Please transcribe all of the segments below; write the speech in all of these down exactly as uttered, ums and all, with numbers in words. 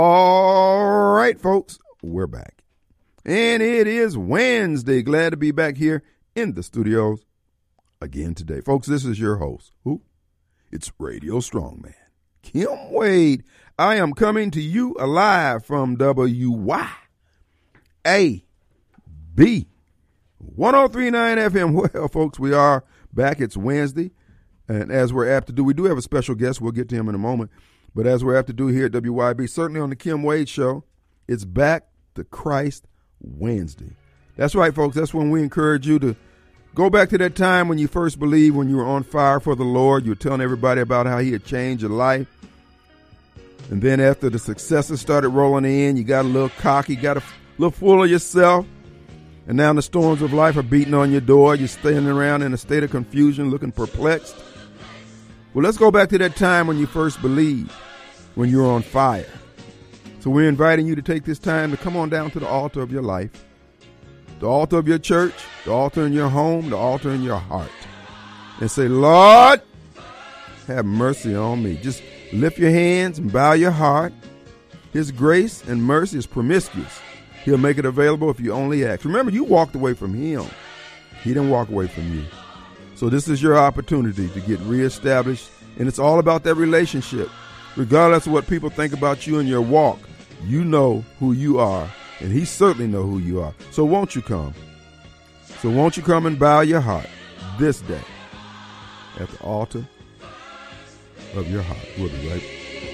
All right, folks, we're back. And it is Wednesday. Glad to be back here in the studios again today. Folks, this is your host. Who? It's Radio Strongman, Kim Wade. I am coming to you alive from W Y A B one oh three point nine F M. Well, folks, we are back. It's Wednesday. And as we're apt to do, we do have a special guest. We'll get to him in a moment. But as we're apt to do here at W Y B, certainly on the Kim Wade Show, it's Back to Christ Wednesday. That's right, folks. That's when we encourage you to go back to that time when you first believed, when you were on fire for the Lord. You were telling everybody about how he had changed your life. And then after the successes started rolling in, you got a little cocky, got a little full of yourself. And now the storms of life are beating on your door. You're standing around in a state of confusion, looking perplexed. Well, let's go back to that time when you first believed, when you were on fire. So we're inviting you to take this time to come on down to the altar of your life, the altar of your church, the altar in your home, the altar in your heart, and say, Lord, have mercy on me. Just lift your hands and bow your heart. His grace and mercy is promiscuous. He'll make it available if you only ask. Remember, you walked away from him. He didn't walk away from you. So this is your opportunity to get reestablished, and it's all about that relationship. Regardless of what people think about you and your walk, you know who you are, and he certainly knows who you are. So won't you come? So won't you come and bow your heart this day at the altar of your heart. We'll be right back.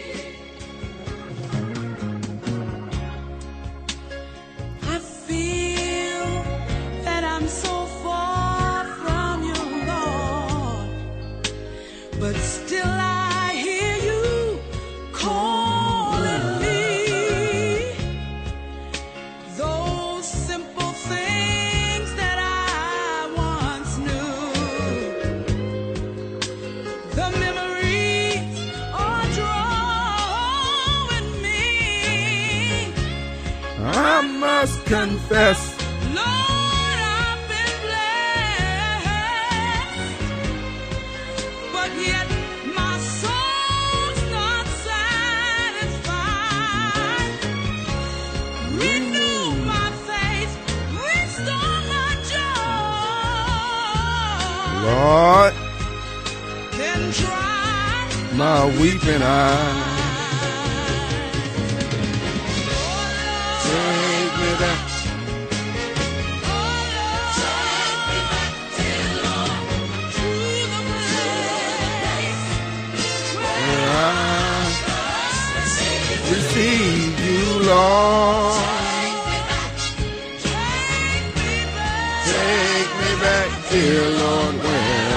But still I hear you calling me. Those simple things that I once knew. The memories are drawing me. I must confess, yet my soul's not satisfied. Renew my faith, restore my joy. Lord, Then dry my weeping eyes. Take me back. Receive you, Lord. Take me back, dear Lord, where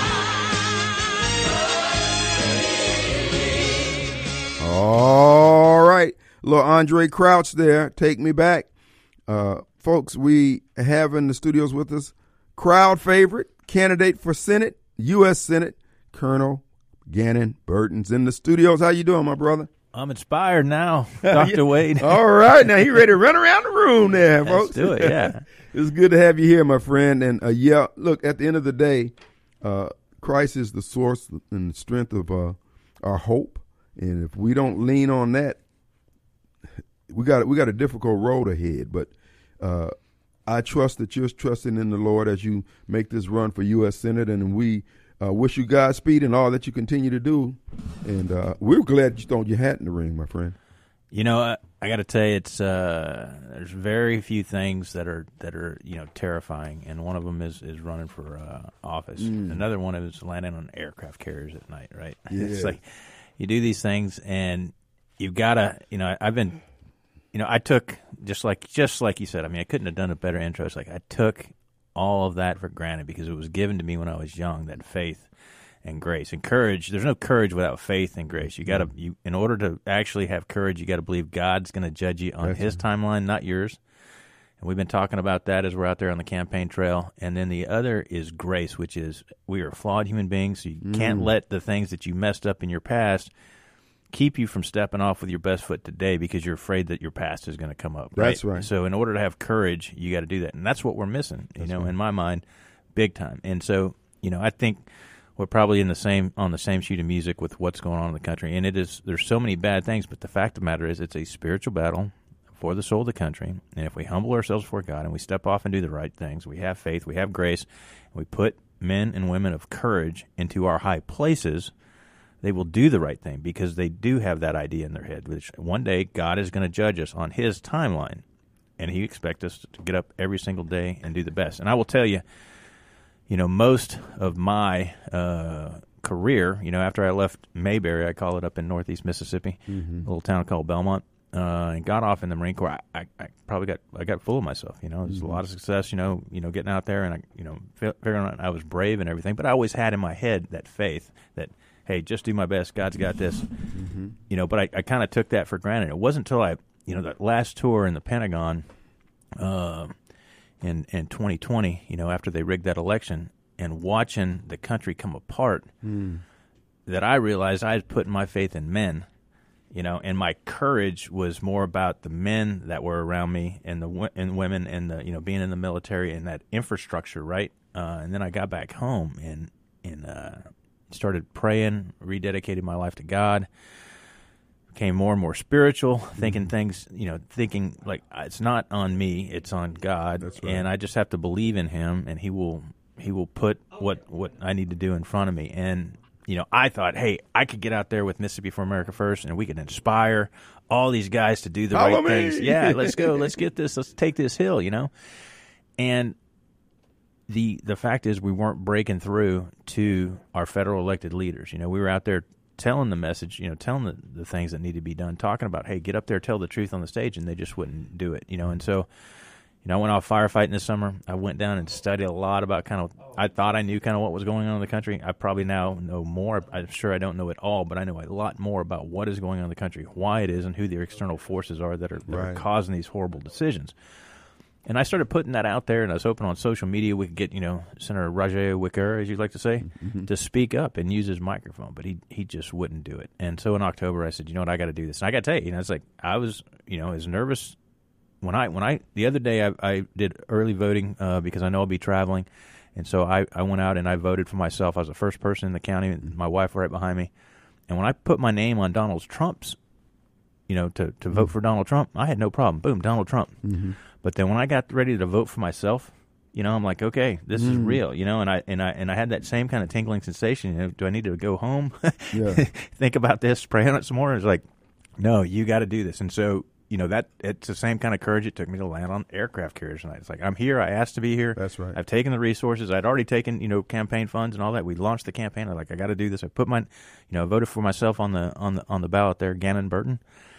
I... All right. Little Andre Crouch there. Take me back. Uh, folks, we have in the studios with us crowd favorite, candidate for Senate, U S Senate, Colonel Gannon Burton's in the studios. How you doing, my brother? I'm inspired now, Doctor Wade. All right. Now, you ready to run around the room there, folks? Let's do it, yeah. It's good to have you here, my friend. And, uh, yeah, look, at the end of the day, uh, Christ is the source and the strength of uh, our hope. And if we don't lean on that, we got we got a difficult road ahead. But uh, I trust that you're trusting in the Lord as you make this run for U S Senate, and we Uh, wish you Godspeed and all that you continue to do. And uh, we're glad you thrown your hat in the ring, my friend. You know, I, I got to tell you, it's uh, there's very few things that are that are you know terrifying, and one of them is, is running for uh, office. Mm. Another one is landing on aircraft carriers at night. Right? Yeah. It's like you do these things, and you've got to. You know, I've been. You know, I took just like just like you said. I mean, I couldn't have done a better intro. It's like I took all of that for granted because it was given to me when I was young, that faith and grace and courage. There's no courage without faith and grace. You got to, you in order to actually have courage, you got to believe God's going to judge you on That's His right. timeline, not yours. And we've been talking about that as we're out there on the campaign trail. And then the other is grace, which is we are flawed human beings, so you mm. can't let the things that you messed up in your past keep you from stepping off with your best foot today because you're afraid that your past is going to come up. Right? That's right. So in order to have courage, you got to do that. And that's what we're missing, you that's know, right. in my mind, big time. And so, you know, I think we're probably in the same on the same sheet of music with what's going on in the country. And it is there's so many bad things, but the fact of the matter is it's a spiritual battle for the soul of the country. And if we humble ourselves before God and we step off and do the right things, we have faith, we have grace, and we put men and women of courage into our high places, they will do the right thing because they do have that idea in their head, which one day God is going to judge us on his timeline, and he expects us to get up every single day and do the best. And I will tell you, you know, most of my uh, career, you know, after I left Mayberry, I call it up in northeast Mississippi, mm-hmm. a little town called Belmont, uh, and got off in the Marine Corps. I, I, I probably got I got full of myself. You know, there's mm-hmm. a lot of success. You know, you know, getting out there, and I, you know, figuring out I was brave and everything. But I always had in my head that faith that, hey, just do my best. God's got this. Mm-hmm. You know, but I, I kind of took that for granted. It wasn't until I, you know, that last tour in the Pentagon. Uh, in in twenty twenty, you know, after they rigged that election, and watching the country come apart, mm. that I realized I had put my faith in men, you know, and my courage was more about the men that were around me and the and women and the, you know, being in the military and that infrastructure, right? Uh, and then I got back home and and uh, started praying, rededicated my life to God. Became more and more spiritual, thinking things, you know, thinking like it's not on me, it's on God. That's right. And I just have to believe in him, and he will he will put what, what I need to do in front of me. And, you know, I thought, hey, I could get out there with Mississippi for America First, and we could inspire all these guys to do the Follow right me. things. Yeah, let's go, let's get this, let's take this hill, you know. And the the fact is we weren't breaking through to our federal elected leaders. You know, we were out there telling the message, you know, telling the, the things that need to be done, talking about, hey, get up there, tell the truth on the stage, and they just wouldn't do it, you know. And so, you know, I went off firefighting this summer. I went down and studied a lot about kind of, I thought I knew kind of what was going on in the country. I probably now know more. I'm sure I don't know it all, but I know a lot more about what is going on in the country, why it is, and who the external forces are that are, that Right. are causing these horrible decisions. And I started putting that out there, and I was hoping on social media we could get, you know, Senator Rajay Wicker, as you'd like to say, mm-hmm. to speak up and use his microphone, but he he just wouldn't do it. And so in October, I said, you know what, I got to do this. And I got to tell you, you know, it's like I was, you know, as nervous when I when I the other day I, I did early voting uh, because I know I'll be traveling, and so I, I went out and I voted for myself. I was the first person in the county, and my wife right behind me. And when I put my name on Donald Trump's, you know, to, to mm-hmm. vote for Donald Trump, I had no problem. Boom, Donald Trump. Mm-hmm. But then when I got ready to vote for myself, you know, I'm like, okay, this mm. is real, you know, and I and I and I had that same kind of tingling sensation. You know, do I need to go home, yeah. think about this, pray on it some more? It's like, no, you got to do this. And so, you know, that it's the same kind of courage it took me to land on aircraft carriers tonight. It's like, I'm here. I asked to be here. That's right. I've taken the resources. I'd already taken, you know, campaign funds and all that. We launched the campaign. I'm like, I got to do this. I put my, you know, I voted for myself on the on the on the ballot there, Gannon Burton.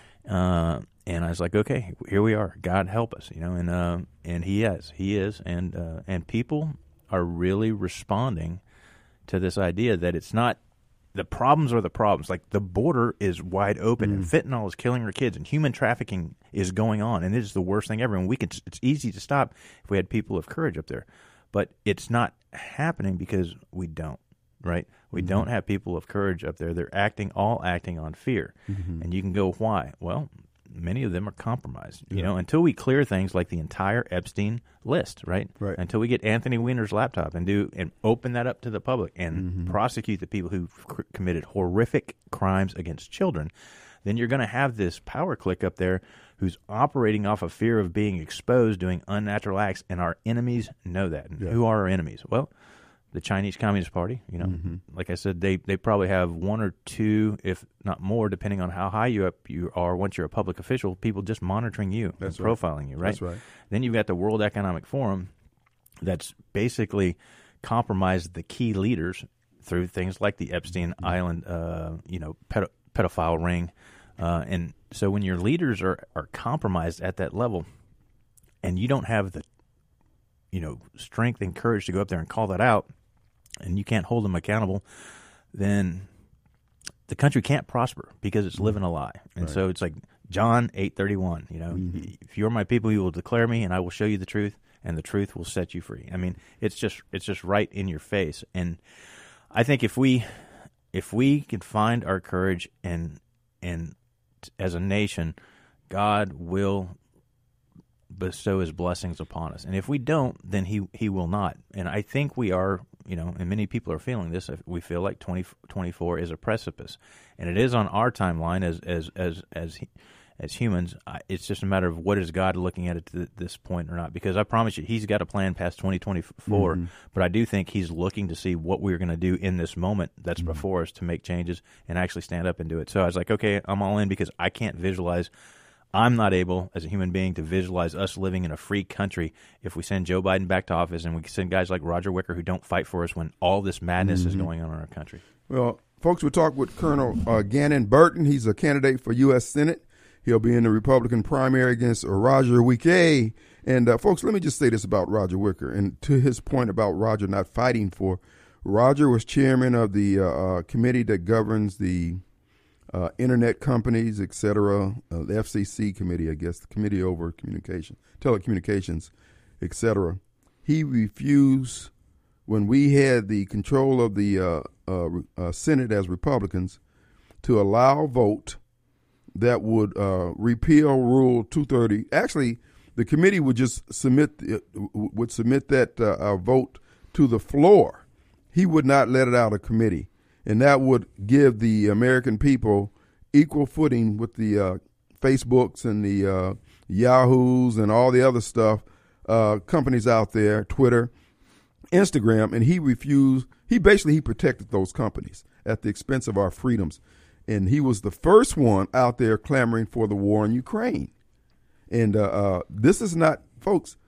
Uh, and I was like, okay, here we are. God help us, you know, and uh, and He is, He is, and uh, and people are really responding to this idea that it's not the problems are the problems. Like the border is wide open, mm. and fentanyl is killing our kids, and human trafficking is going on, and it is the worst thing ever. And we can, it's easy to stop if we had people of courage up there, but it's not happening because we don't. Right? We mm-hmm. don't have people of courage up there. They're acting, all acting on fear. Mm-hmm. And you can go, why? Well, many of them are compromised. Yeah. You know, until we clear things like the entire Epstein list, right? Right. Until we get Anthony Weiner's laptop and do and open that up to the public and mm-hmm. prosecute the people who c- committed horrific crimes against children, then you're going to have this power clique up there who's operating off of fear of being exposed, doing unnatural acts, and our enemies know that. And yeah. who are our enemies? Well, the Chinese Communist Party, you know, mm-hmm. like I said, they, they probably have one or two, if not more, depending on how high you up you are once you're a public official, people just monitoring you that's and right. profiling you, right? That's right. Then you've got the World Economic Forum that's basically compromised the key leaders through things like the Epstein mm-hmm. Island, uh, you know, pedo- pedophile ring. Uh, and so when your leaders are, are compromised at that level and you don't have the, you know, strength and courage to go up there and call that out, and you can't hold them accountable, then the country can't prosper because it's living a lie. And right. so it's like John eight thirty-one, you know, mm-hmm. if you're my people, you will declare me, and I will show you the truth, and the truth will set you free. I mean, it's just it's just right in your face. And I think if we if we can find our courage and and as a nation, God will bestow His blessings upon us. And if we don't, then He He will not. And I think we are you know, and many people are feeling this. We feel like twenty twenty-four is a precipice, and it is on our timeline as as as as as humans. It's just a matter of what is God looking at it to this point or not. Because I promise you, He's got a plan past twenty twenty-four. Mm-hmm. But I do think He's looking to see what we're going to do in this moment that's mm-hmm. before us to make changes and actually stand up and do it. So I was like, okay, I'm all in because I can't visualize. I'm not able, as a human being, to visualize us living in a free country if we send Joe Biden back to office and we send guys like Roger Wicker who don't fight for us when all this madness mm-hmm. is going on in our country. Well, folks, we talked with Colonel uh, Gannon Burton. He's a candidate for U S Senate. He'll be in the Republican primary against uh, Roger Wicker. And, uh, folks, let me just say this about Roger Wicker. And to his point about Roger not fighting for, Roger was chairman of the uh, uh, committee that governs the Uh, internet companies, et cetera, uh, the F C C committee, I guess, the Committee over Communication, Telecommunications, et cetera. He refused, when we had the control of the uh, uh, uh, Senate as Republicans, to allow a vote that would uh, repeal Rule two thirty. Actually, the committee would just submit uh, would submit that uh, uh, vote to the floor. He would not let it out of committee. And that would give the American people equal footing with the uh, Facebooks and the uh, Yahoos and all the other stuff, uh, companies out there, Twitter, Instagram. And he refused. He basically he protected those companies at the expense of our freedoms. And he was the first one out there clamoring for the war in Ukraine. And uh, uh, this is not, folks,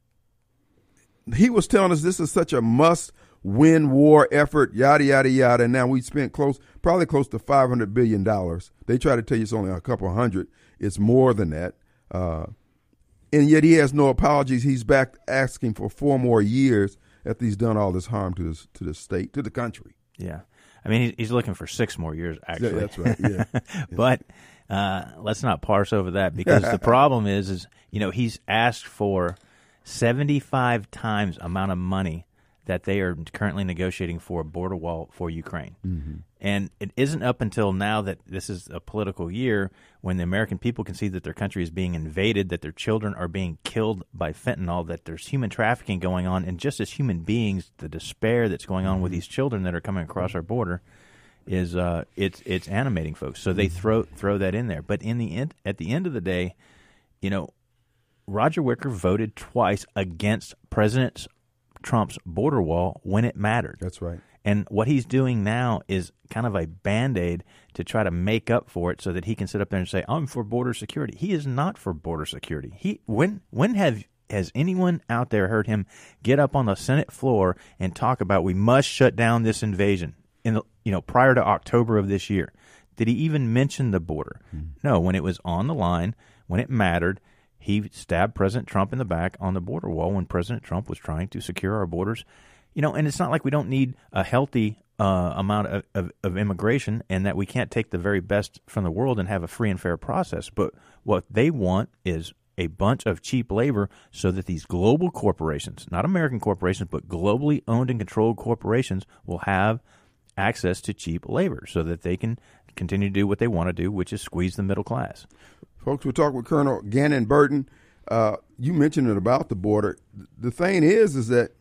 he was telling us this is such a must win war effort, yada, yada, yada. And now we spent close, probably close to five hundred billion dollars. They try to tell you it's only a couple hundred. It's more than that. Uh, and yet he has no apologies. He's back asking for four more years after he's done all this harm to this, to the state, to the country. Yeah. I mean, he's looking for six more years, actually. Yeah, that's right, yeah. But uh, let's not parse over that because the problem is, is, you know, he's asked for seventy-five times amount of money that they are currently negotiating for a border wall for Ukraine. Mm-hmm. And it isn't up until now that this is a political year when the American people can see that their country is being invaded, that their children are being killed by fentanyl, that there's human trafficking going on, and just as human beings, the despair that's going on mm-hmm. with these children that are coming across our border is uh, it's it's animating folks. So they throw throw that in there. But in the end, at the end of the day, you know, Roger Wicker voted twice against President Trump's border wall when it mattered. That's right. And what he's doing now is kind of a Band-Aid to try to make up for it so that he can sit up there and say, I'm for border security. He is not for border security. He when when have has anyone out there heard him get up on the Senate floor and talk about we must shut down this invasion in the, you know, prior to October of this year? Did he even mention the border? Hmm. No, when it was on the line, when it mattered, he stabbed President Trump in the back on the border wall when President Trump was trying to secure our borders. You know, and it's not like we don't need a healthy uh, amount of, of, of immigration and that we can't take the very best from the world and have a free and fair process. But what they want is a bunch of cheap labor so that these global corporations, not American corporations, but globally owned and controlled corporations will have access to cheap labor so that they can continue to do what they want to do, which is squeeze the middle class. Folks, we're talking with Colonel Gannon Burton. Uh, you mentioned it about the border. The thing is, is that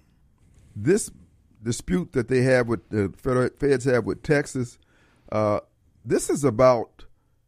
this dispute that they have with the federal feds have with Texas, uh, this is about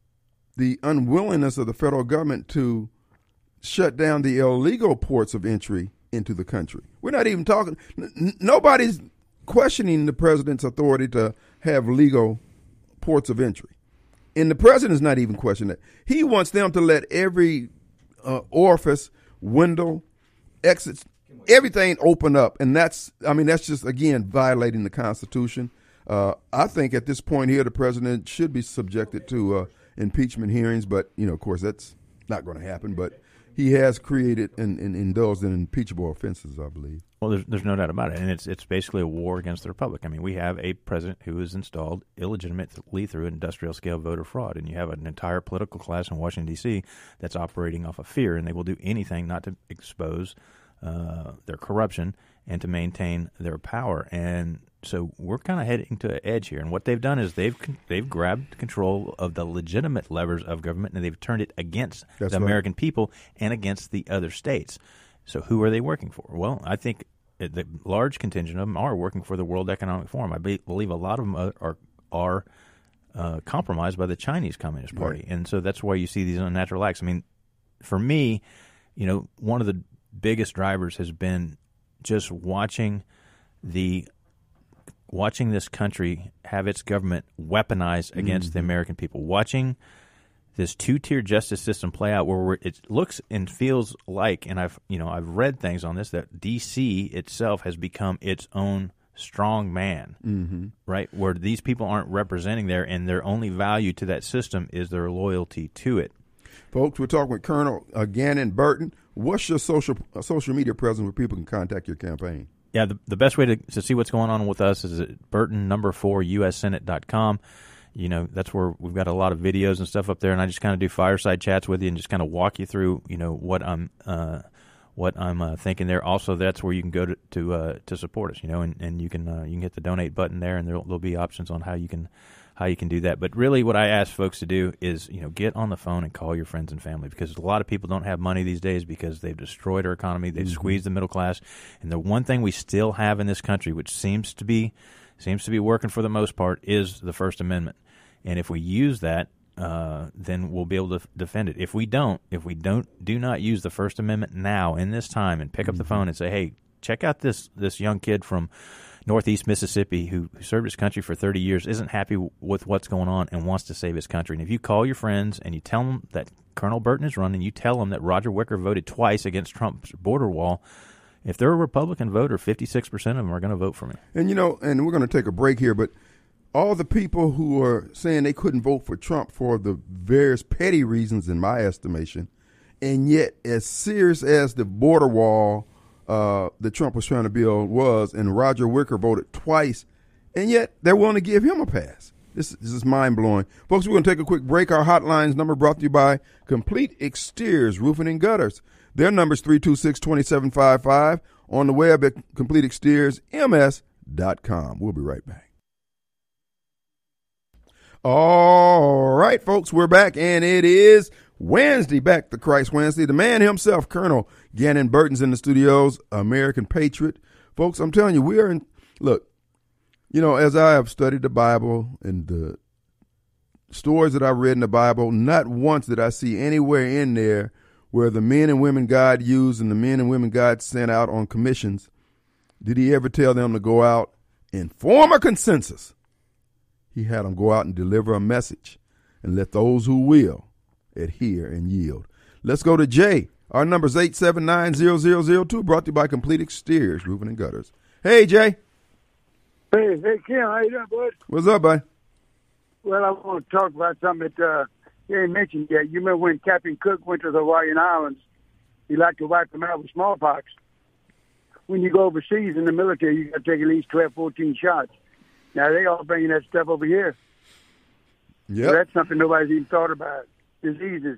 the unwillingness of the federal government to shut down the illegal ports of entry into the country. We're not even talking. N- nobody's questioning the president's authority to have legal ports of entry. And the president's not even questioning it. He wants them to let every uh, orifice, window, exits, everything open up. And that's, I mean, that's just, again, violating the Constitution. Uh, I think at this point here, the president should be subjected to uh, impeachment hearings. But, you know, of course, that's not going to happen. But he has created and, and indulged in impeachable offenses, I believe. Well, there's, there's no doubt about it. And it's it's basically a war against the republic. I mean, we have a president who is installed illegitimately through industrial-scale voter fraud. And you have an entire political class in Washington, D C that's operating off of fear. And they will do anything not to expose uh, their corruption and to maintain their power. And so we're kind of heading to an edge here. And what they've done is they've they've grabbed control of the legitimate levers of government, and they've turned it against That's the right. American people and against the other states. So who are they working for? Well, I think the large contingent of them are working for the World Economic Forum. I be, believe a lot of them are are, are uh, compromised by the Chinese Communist Party, Right. and so that's why you see these unnatural acts. I mean, for me, you know, one of the biggest drivers has been just watching the watching this country have its government weaponized against Mm-hmm. the American people, watching this two-tier justice system play out, where we're, it looks and feels like, and I've you know I've read things on this, that D C itself has become its own strong man, Mm-hmm. right? Where these people aren't representing there, and their only value to that system is their loyalty to it. Folks, we're talking with Colonel uh, Gannon Burton. What's your social uh, social media presence where people can contact your campaign? Yeah, the, the best way to, to see what's going on with us is at Burton number four U S Senate dot com. You know, that's where we've got a lot of videos and stuff up there, and I just kind of do fireside chats with you and just kind of walk you through, you know, what I'm uh, what I'm uh, thinking there. Also, that's where you can go to to, uh, to support us, you know, and, and you can uh, you can hit the donate button there, and there'll, there'll be options on how you can how you can do that. But really, what I ask folks to do is, you know, get on the phone and call your friends and family, because a lot of people don't have money these days because they've destroyed our economy, they've Mm-hmm. squeezed the middle class, and the one thing we still have in this country, which seems to be seems to be working for the most part, is the First Amendment. And if we use that, uh, then we'll be able to f- defend it. If we don't, if we don't, do not use the First Amendment now in this time, and pick up the phone and say, "Hey, check out this this young kid from Northeast Mississippi who, who served his country for thirty years, isn't happy w- with what's going on, and wants to save his country." And if you call your friends and you tell them that Colonel Burton is running, you tell them that Roger Wicker voted twice against Trump's border wall. If they're a Republican voter, fifty-six percent of them are going to vote for me. And, you know, and we're going to take a break here, but all the people who are saying they couldn't vote for Trump for the various petty reasons, in my estimation, and yet as serious as the border wall uh, that Trump was trying to build was, and Roger Wicker voted twice, and yet they're willing to give him a pass. This, this is mind-blowing. Folks, we're going to take a quick break. Our hotline's number brought to you by Complete Exteriors Roofing and Gutters. Their number is three two six, two seven five five. On the web at complete exteriors m s dot com. We'll be right back. All right, folks, we're back, and it is Wednesday, Back to Christ Wednesday. The man himself, Colonel Gannon Burton's in the studios, American patriot. Folks, I'm telling you, we are in, look, you know, as I have studied the Bible and the stories that I've read in the Bible, not once did I see anywhere in there where the men and women God used and the men and women God sent out on commissions, did he ever tell them to go out and form a consensus. He had them go out and deliver a message and let those who will adhere and yield. Let's go to Jay. Our number is eight seven nine, zero zero zero two, brought to you by Complete Exteriors, Roofing and Gutters. Hey, Jay. Hey, hey, Kim, how you doing, bud? What's up, bud? Well, I want to talk about something that uh, you ain't mentioned yet. You remember when Captain Cook went to the Hawaiian Islands, he liked to wipe them out with smallpox. When you go overseas in the military, you got to take at least twelve, fourteen shots. Now, they all bringing that stuff over here. Yep. So that's something nobody's even thought about. Diseases.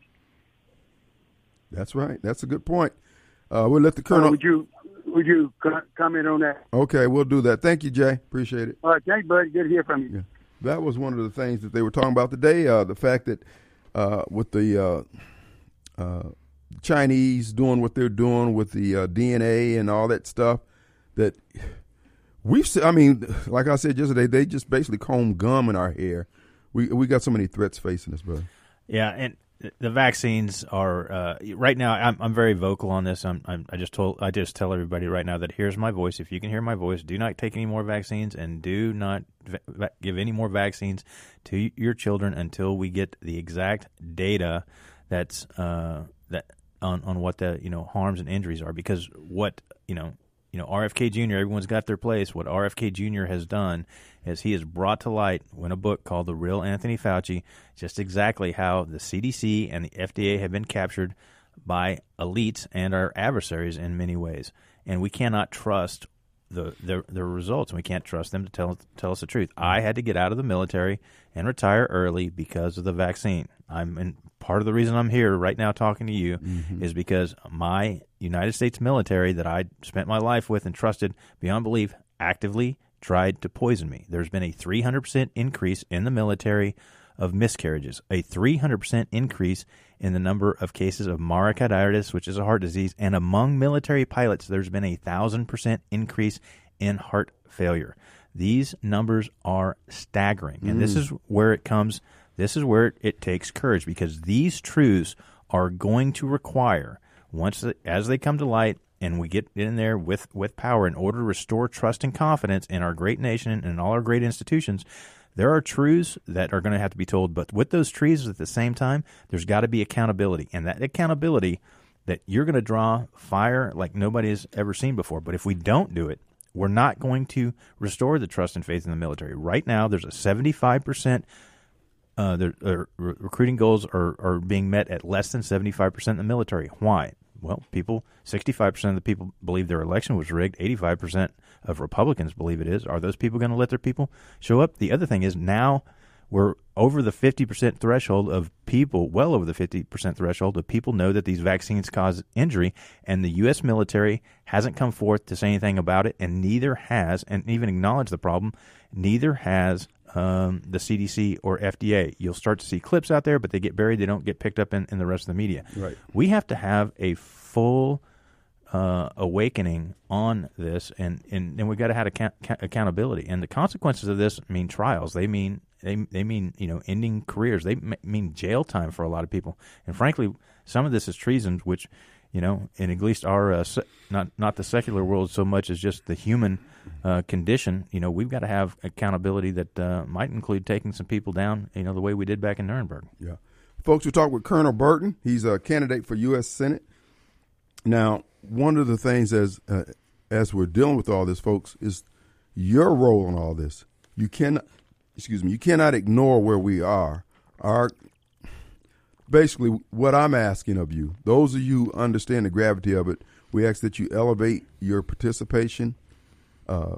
That's right. That's a good point. Uh, we'll let the Uh, Colonel. would you would you co- comment on that? Okay, we'll do that. Thank you, Jay. Appreciate it. All right, thanks, bud. Good to hear from you. Yeah. That was one of the things that they were talking about today, uh, the fact that uh, with the uh, uh, Chinese doing what they're doing with the uh, D N A and all that stuff, that we've se- I mean, like I said yesterday, they just basically comb gum in our hair. We we got so many threats facing us, brother. Yeah, and the vaccines are uh, right now. I'm I'm very vocal on this. I'm, I'm I just told I just tell everybody right now that here's my voice. If you can hear my voice, do not take any more vaccines, and do not va- give any more vaccines to your children until we get the exact data that's uh, that on, on what the you know harms and injuries are. Because what you know you know R F K Junior Everyone's got their place. What R F K Junior has done is he has brought to light in a book called The Real Anthony Fauci just exactly how the C D C and the F D A have been captured by elites and our adversaries in many ways. And we cannot trust the the, the results, and we can't trust them to tell tell us the truth. I had to get out of the military and retire early because of the vaccine. I'm in, part of the reason I'm here right now talking to you mm-hmm. is because my United States military that I spent my life with and trusted beyond belief actively tried to poison me. There's been a three hundred percent increase in the military of miscarriages, a three hundred percent increase in the number of cases of myocarditis, which is a heart disease, and among military pilots, there's been a thousand percent increase in heart failure. These numbers are staggering, and mm. this is where it comes. This is where it, it takes courage, because these truths are going to require, once the, as they come to light, and we get in there with, with power in order to restore trust and confidence in our great nation and all our great institutions. There are truths that are going to have to be told, but with those truths at the same time, there's got to be accountability, and that accountability that you're going to draw fire like nobody has ever seen before. But if we don't do it, we're not going to restore the trust and faith in the military. Right now, there's a seventy-five percent uh, the uh, re- recruiting goals are, are being met at less than seventy-five percent in the military. Why? Well, people, sixty-five percent of the people believe their election was rigged. eighty-five percent of Republicans believe it is. Are those people going to let their people show up? The other thing is now we're over the fifty percent threshold of people, well over the fifty percent threshold of people know that these vaccines cause injury, and the U S military hasn't come forth to say anything about it, and neither has, and even acknowledged the problem, neither has um, the C D C or F D A. You'll start to see clips out there, but they get buried. They don't get picked up in, in the rest of the media. Right. We have to have a full uh, awakening on this, and, and, and we've got to have account- accountability. And the consequences of this mean trials. They mean They they mean, you know, ending careers. They m- mean jail time for a lot of people. And frankly, some of this is treason, which, you know, in at least our uh, se- not not the secular world so much as just the human uh, condition. You know, we've got to have accountability that uh, might include taking some people down, you know, the way we did back in Nuremberg. Yeah, folks, we talked with Colonel Burton. He's a candidate for U S Senate. Now, one of the things as uh, as we're dealing with all this, folks, is your role in all this. You cannot. Excuse me, you cannot ignore where we are. Our, basically, what I'm asking of you, those of you who understand the gravity of it, we ask that you elevate your participation. Uh,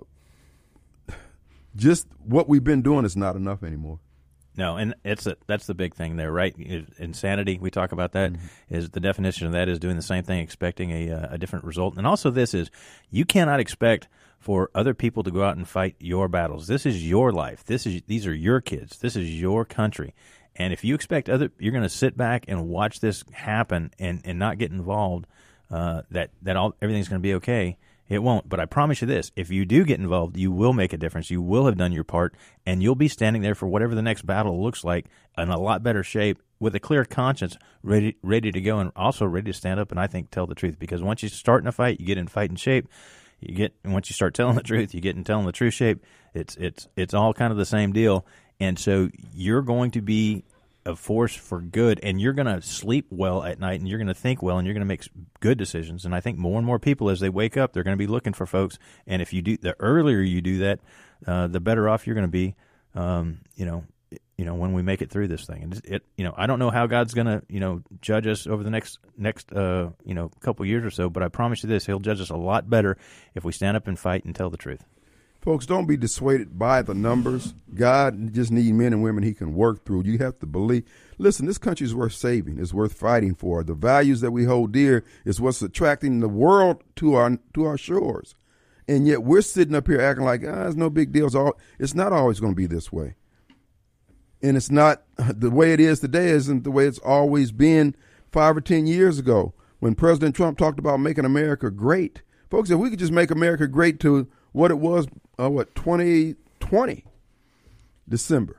just what we've been doing is not enough anymore. No, and it's a, that's the big thing there, right? Insanity, we talk about that, mm-hmm. is the definition of that is doing the same thing, expecting a, a different result. And also this is, you cannot expect for other people to go out and fight your battles. This is your life. This is These are your kids. This is your country. And if you expect other, you're going to sit back and watch this happen and, and not get involved, uh, that, that all everything's going to be okay. It won't. But I promise you this, if you do get involved, you will make a difference. You will have done your part, and you'll be standing there for whatever the next battle looks like in a lot better shape with a clear conscience, ready ready to go, and also ready to stand up and, I think, tell the truth. Because once you start in a fight, you get in fighting shape. You get and once you start telling the truth, you get in telling the true shape. It's it's it's all kind of the same deal. And so you're going to be a force for good, and you're going to sleep well at night, and you're going to think well, and you're going to make good decisions. And I think more and more people, as they wake up, they're going to be looking for folks. And if you do, the earlier you do that, uh, the better off you're going to be. Um, you know, you know, when we make it through this thing. And it, you know, I don't know how God's going to, you know, judge us over the next next, uh, you know, couple years or so. But I promise you this: He'll judge us a lot better if we stand up and fight and tell the truth. Folks, don't be dissuaded by the numbers. God just needs men and women He can work through. You have to believe. Listen, this country is worth saving. It's worth fighting for. The values that we hold dear is what's attracting the world to our to our shores. And yet we're sitting up here acting like, ah, it's no big deal. It's, all, it's not always going to be this way. And it's not the way it is today isn't the way it's always been five or ten years ago when President Trump talked about making America great. Folks, if we could just make America great to what it was, uh, what, twenty twenty, December.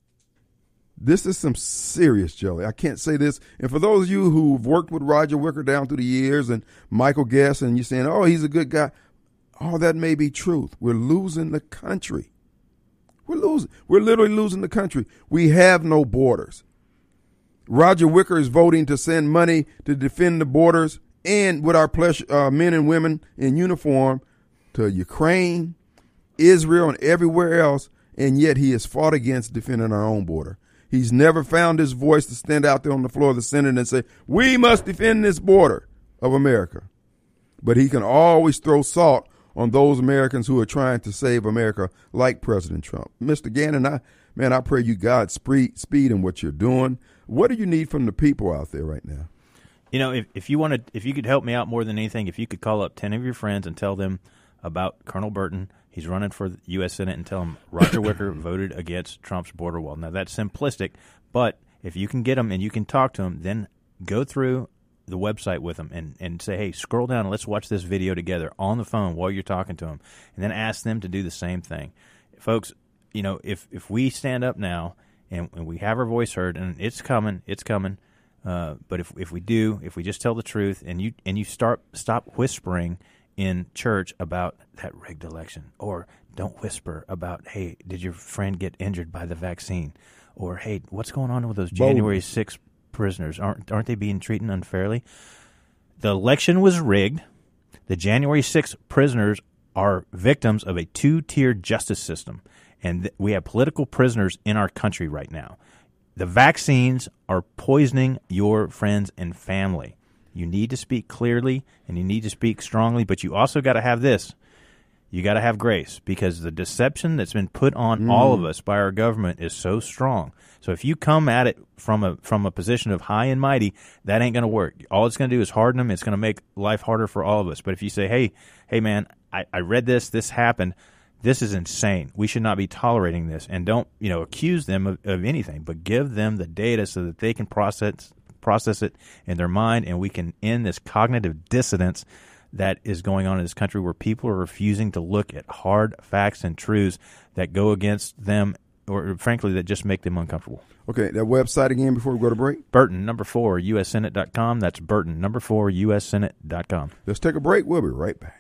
This is some serious jelly. I can't say this. And for those of you who've worked with Roger Wicker down through the years and Michael Guest, and you're saying, oh, he's a good guy. All that may be truth. We're losing the country. We're losing. We're literally losing the country. We have no borders. Roger Wicker is voting to send money to defend the borders and with our pleasure, uh, men and women in uniform to Ukraine, Israel, and everywhere else, and yet he has fought against defending our own border. He's never found his voice to stand out there on the floor of the Senate and say, we must defend this border of America. But he can always throw salt on those Americans who are trying to save America, like President Trump. Mister Gannon, I, man, I pray you God speed, speed in what you're doing. What do you need from the people out there right now? You know, if, if you wanted, if you could help me out more than anything, if you could call up ten of your friends and tell them about Colonel Burton, he's running for the U S Senate, and tell him Roger Wicker voted against Trump's border wall. Now, that's simplistic, but if you can get him and you can talk to him, then go through the website with them and, and say, hey, scroll down and let's watch this video together on the phone while you're talking to them, and then ask them to do the same thing. Folks, you know, if, if we stand up now and, and we have our voice heard, and it's coming, it's coming, uh, but if if we do, if we just tell the truth and you and you start stop whispering in church about that rigged election, or don't whisper about, hey, did your friend get injured by the vaccine, or hey, what's going on with those January sixth prisoners? Aren't aren't they being treated unfairly? The election was rigged. The January sixth prisoners are victims of a two-tier justice system, and th- we have political prisoners in our country right now. The vaccines are poisoning your friends and family. You need to speak clearly, and you need to speak strongly, but you also got to have this. You got to have grace, because the deception that's been put on mm. all of us by our government is so strong. So if you come at it from a from a position of high and mighty, that ain't going to work. All it's going to do is harden them. It's going to make life harder for all of us. But if you say, hey, hey, man, I, I read this, this happened, this is insane. We should not be tolerating this. And don't, you know, accuse them of, of anything, but give them the data so that they can process process it in their mind, and we can end this cognitive dissonance that is going on in this country, where people are refusing to look at hard facts and truths that go against them, or frankly, that just make them uncomfortable. Okay, that website again before we go to break? Burton, number four, U S Senate dot com. That's Burton, number four, U S Senate dot com. Let's take a break. We'll be right back.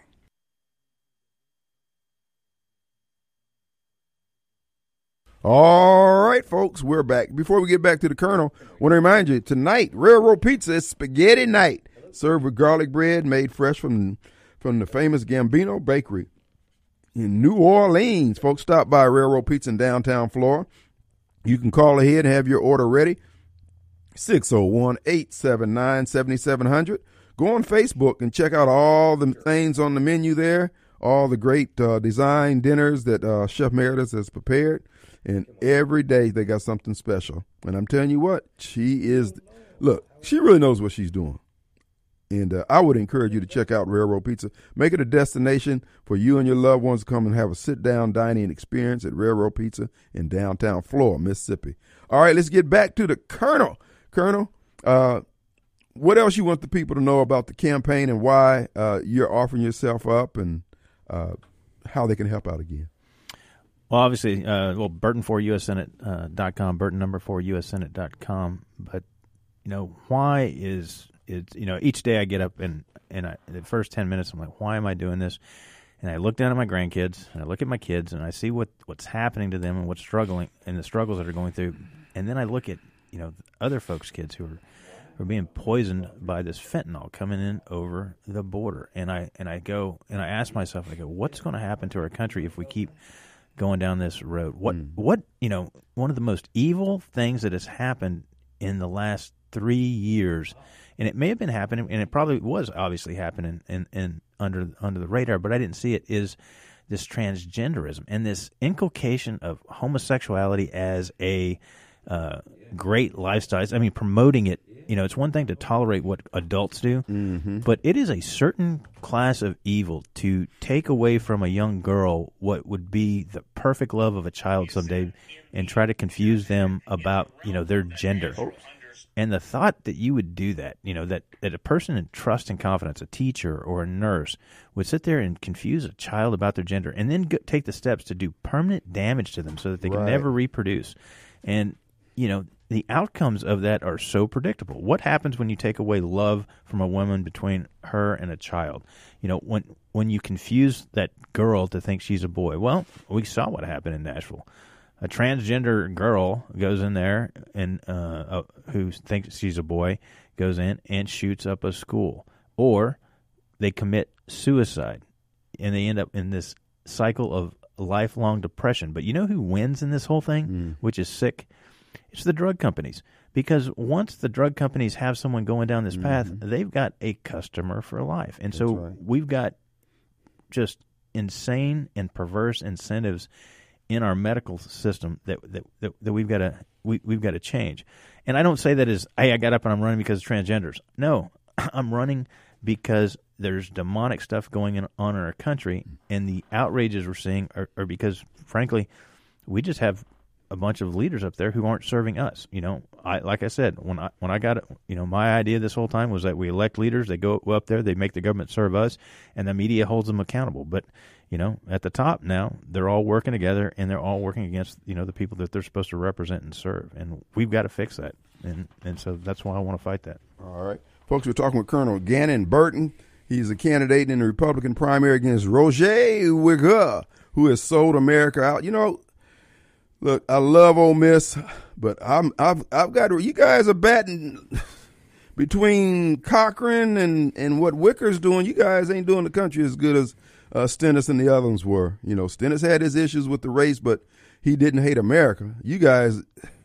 All right, folks, we're back. Before we get back to the Colonel, I want to remind you, tonight, Railroad Pizza is spaghetti night, served with garlic bread made fresh from, from the famous Gambino Bakery in New Orleans. Folks, stop by Railroad Pizza in downtown Florida. You can call ahead and have your order ready, six oh one, eight seven nine, seven seven zero zero. Go on Facebook and check out all the things on the menu there, all the great uh, design dinners that uh, Chef Meredith has prepared. And every day they got something special. And I'm telling you what, she is, look, she really knows what she's doing. And uh, I would encourage you to check out Railroad Pizza. Make it a destination for you and your loved ones to come and have a sit-down dining experience at Railroad Pizza in downtown Florida, Mississippi. All right, let's get back to the Colonel. Colonel, uh, what else you want the people to know about the campaign, and why uh, you're offering yourself up, and uh, how they can help out again? Well, obviously, uh, well, Burton four U S Senate dot com, Burton number four U S Senate dot com. But, you know, why is, is, you know, each day I get up and, and I, the first ten minutes, I'm like, why am I doing this? And I look down at my grandkids, and I look at my kids, and I see what, what's happening to them and what's struggling, and the struggles that are going through. And then I look at, you know, other folks' kids who are, who are being poisoned by this fentanyl coming in over the border. And I, and I go, and I ask myself, I go, what's going to happen to our country if we keep going down this road? What, mm. what, you know, one of the most evil things that has happened in the last three years, and it may have been happening, and it probably was obviously happening in, in under under the radar, but I didn't see it, is this transgenderism and this inculcation of homosexuality as a uh, great lifestyle. I mean, promoting it. You know, it's one thing to tolerate what adults do, mm-hmm. but it is a certain class of evil to take away from a young girl what would be the perfect love of a child someday, and try to confuse them about, you know, their gender. And the thought that you would do that, you know, that, that a person in trust and confidence, a teacher or a nurse, would sit there and confuse a child about their gender, and then go, take the steps to do permanent damage to them so that they can right. never reproduce. And, you know, the outcomes of that are so predictable. What happens when you take away love from a woman between her and a child? You know, when when you confuse that girl to think she's a boy. Well, we saw what happened in Nashville. A transgender girl goes in there, and uh, uh, who thinks she's a boy goes in and shoots up a school. Or they commit suicide, and they end up in this cycle of lifelong depression. But you know who wins in this whole thing, mm. which is sick? It's the drug companies, because once the drug companies have someone going down this path, mm-hmm. they've got a customer for life. And That's so right. we've got just insane and perverse incentives in our medical system that that, that, that we've got to we, we've got to change. And I don't say that as, hey, I got up and I'm running because of transgenders. No, I'm running because there's demonic stuff going on in our country, and the outrages we're seeing are, are because, frankly, we just have a bunch of leaders up there who aren't serving us. You know, I like I said, when I when I got it, you know, my idea this whole time was that we elect leaders, they go up there, they make the government serve us, and the media holds them accountable. But, you know, at the top now, they're all working together, and they're all working against, you know, the people that they're supposed to represent and serve. And we've got to fix that. And and so that's why I want to fight that. All right. Folks, we're talking with Colonel Gannon Burton. He's a candidate in the Republican primary against Roger Wicker, who has sold America out. You know, look, I love Ole Miss, but I'm, I've I've got to, you guys are batting between Cochran and, and what Wicker's doing. You guys ain't doing the country as good as uh, Stennis and the other ones were. You know, Stennis had his issues with the race, but he didn't hate America. You guys,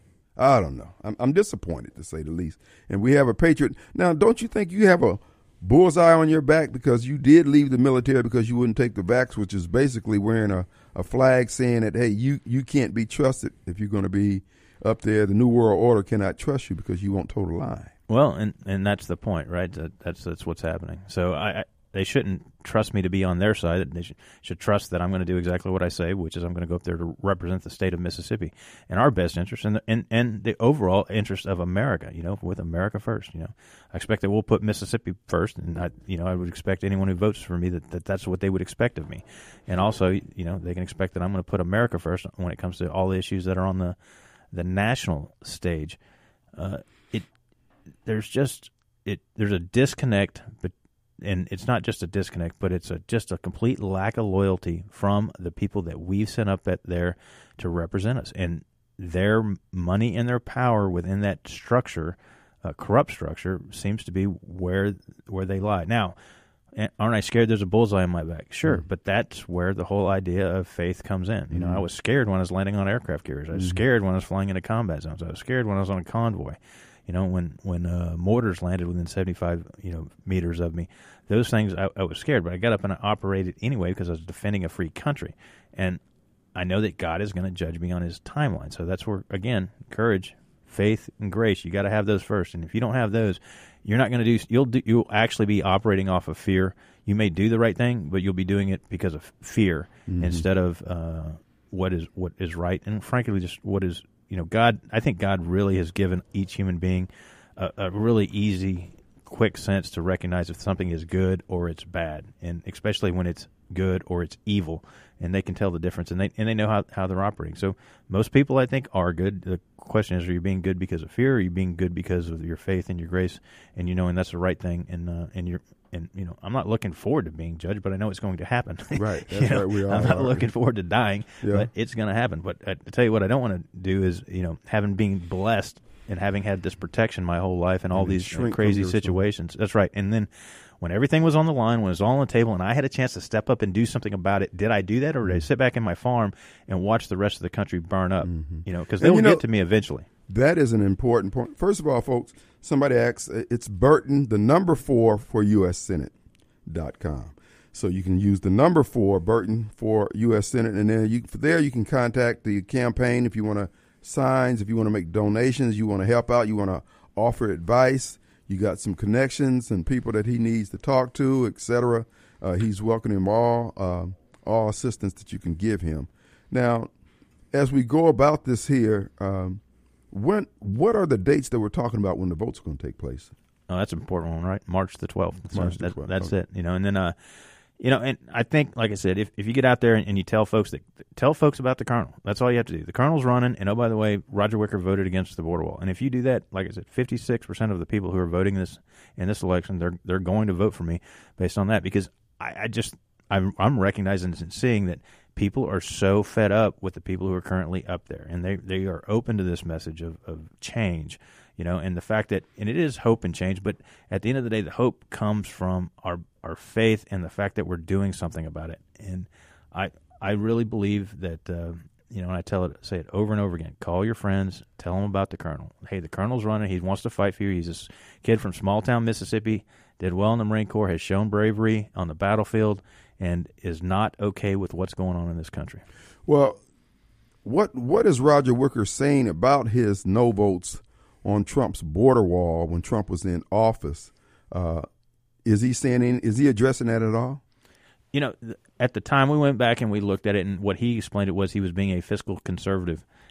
I don't know. I'm, I'm disappointed, to say the least. And we have a patriot. Now, don't you think you have a bullseye on your back because you did leave the military because you wouldn't take the vax, which is basically wearing a, a flag saying that, hey, you, you can't be trusted if you're going to be up there. The New World Order cannot trust you because you won't toe the line. Well, and, and that's the point, right? That, that's that's what's happening. So I, I they shouldn't trust me to be on their side. They should, should trust that I'm going to do exactly what I say, which is I'm going to go up there to represent the state of Mississippi in our best interest and the, and, and the overall interest of America, you know, with America first. You know, I expect that we'll put Mississippi first, and I, you know, I would expect anyone who votes for me that, that that's what they would expect of me. And also, you know, they can expect that I'm going to put America first when it comes to all the issues that are on the the national stage. Uh, it there's just it there's a disconnect, but. And it's not just a disconnect, but it's a, just a complete lack of loyalty from the people that we've sent up at there to represent us. And their money and their power within that structure, uh, corrupt structure, seems to be where where they lie. Now, aren't I scared there's a bullseye on my back? Sure, mm-hmm. But that's where the whole idea of faith comes in. You know, mm-hmm. I was scared when I was landing on aircraft carriers. I was mm-hmm. scared when I was flying into combat zones. I was scared when I was on a convoy. You know, when when uh, mortars landed within seventy-five, you know, meters of me, those things I, I was scared. But I got up and I operated anyway because I was defending a free country, and I know that God is going to judge me on His timeline. So that's where, again, courage, faith, and grace. You got to have those first. And if you don't have those, you're not going to do. You'll do, you'll actually be operating off of fear. You may do the right thing, but you'll be doing it because of fear mm-hmm. instead of uh, what is what is right, and frankly, just what is. You know, God, I think God really has given each human being a, a really easy, quick sense to recognize if something is good or it's bad, and especially when it's good or it's evil, and they can tell the difference, and they and they know how, how they're operating. So most people, I think, are good. The question is, are you being good because of fear, or are you being good because of your faith and your grace, and you knowing that's the right thing, and uh, and you're and you know, I'm not looking forward to being judged, but I know it's going to happen. Right, that's you know, right. We all I'm not are. looking forward to dying, yeah. but it's going to happen. But I tell you what, I don't want to do is, you know, having been blessed and having had this protection my whole life and all and these uh, crazy situations. That's right. And then when everything was on the line, when it was all on the table, and I had a chance to step up and do something about it, did I do that, or did I sit back in my farm and watch the rest of the country burn up? Mm-hmm. You know, because they will get to me eventually. That is an important point. First of all, folks, somebody asks, it's Burton, the number four for U S Senate dot com. So you can use the number four, Burton, for U S Senate, and then you, there you can contact the campaign if you want to signs, if you want to make donations, you want to help out, you want to offer advice. You got some connections and people that he needs to talk to, et cetera. Uh, he's welcoming all uh, all assistance that you can give him. Now, as we go about this here, um, when what are the dates that we're talking about when the votes are going to take place? Oh, that's an important one, right? March the twelfth. That's, March that, the twelfth. That's okay. it. You know, and then, uh, you know, and I think, like I said, if, if you get out there and, and you tell folks that tell folks about the Colonel, that's all you have to do. The Colonel's running, and oh, by the way, Roger Wicker voted against the border wall. And if you do that, like I said, fifty-six percent of the people who are voting this in this election, they're they're going to vote for me based on that, because I, I just I'm I'm recognizing and seeing that people are so fed up with the people who are currently up there, and they they are open to this message of, of change. You know, and the fact that, and it is hope and change, but at the end of the day, the hope comes from our our faith and the fact that we're doing something about it. And I I really believe that, uh, you know, and I tell it, say it over and over again, call your friends, tell them about the Colonel. Hey, the Colonel's running. He wants to fight for you. He's this kid from small town Mississippi, did well in the Marine Corps, has shown bravery on the battlefield, and is not okay with what's going on in this country. Well, what what is Roger Wicker saying about his no votes on Trump's border wall when Trump was in office? Uh, is he saying, is he addressing that at all? You know, at the time we went back and we looked at it, and what he explained it was he was being a fiscal conservative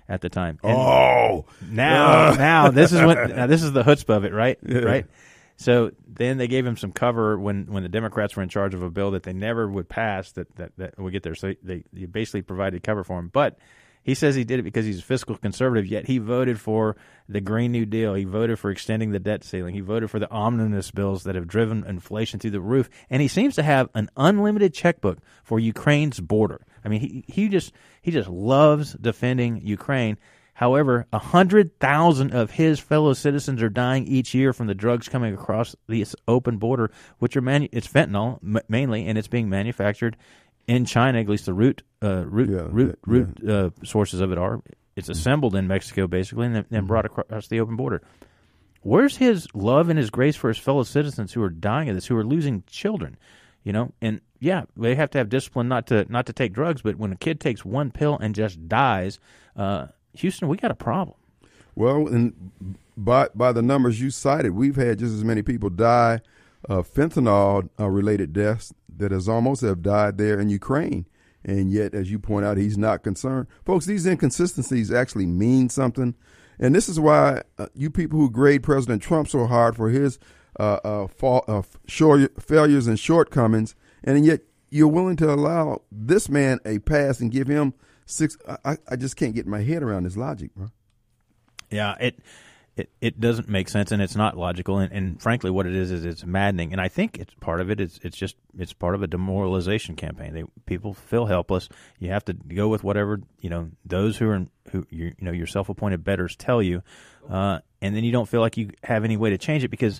at the time. And Oh, now, now this is when now this is the chutzpah of it, right? Yeah. Right. So then they gave him some cover when, when the Democrats were in charge of a bill that they never would pass that that, that would get there. So they, they basically provided cover for him. But he says he did it because he's a fiscal conservative, yet he voted for the Green New Deal. He voted for extending the debt ceiling. He voted for the omnibus bills that have driven inflation through the roof. And he seems to have an unlimited checkbook for Ukraine's border. I mean, he he just he just loves defending Ukraine. However, one hundred thousand of his fellow citizens are dying each year from the drugs coming across this open border, which are manu- it's fentanyl m- mainly, and it's being manufactured in China. At least the root uh, root Yeah, root yeah, root uh, sources of it are. It's assembled in Mexico, basically, and then, then brought across the open border. Where's his love and his grace for his fellow citizens who are dying of this, who are losing children? You know, and yeah, they have to have discipline not to not to take drugs. But when a kid takes one pill and just dies, uh, Houston, we got a problem. well, and by by the numbers you cited, we've had just as many people die of fentanyl uh, related deaths that has almost have died there in Ukraine. And yet, as you point out, he's not concerned. Folks, these inconsistencies actually mean something. And this is why uh, you people who grade President Trump so hard for his uh, uh, fall, uh, short, failures and shortcomings, and yet you're willing to allow this man a pass and give him six. I, I just can't get my head around this logic, bro. Yeah, it it, it doesn't make sense, and it's not logical. And, and frankly, what it is is it's maddening. And I think it's part of it. It's it's just it's part of a demoralization campaign. They, people feel helpless. You have to go with whatever you know those who are who you, you know your self-appointed betters tell you, uh, and then you don't feel like you have any way to change it because.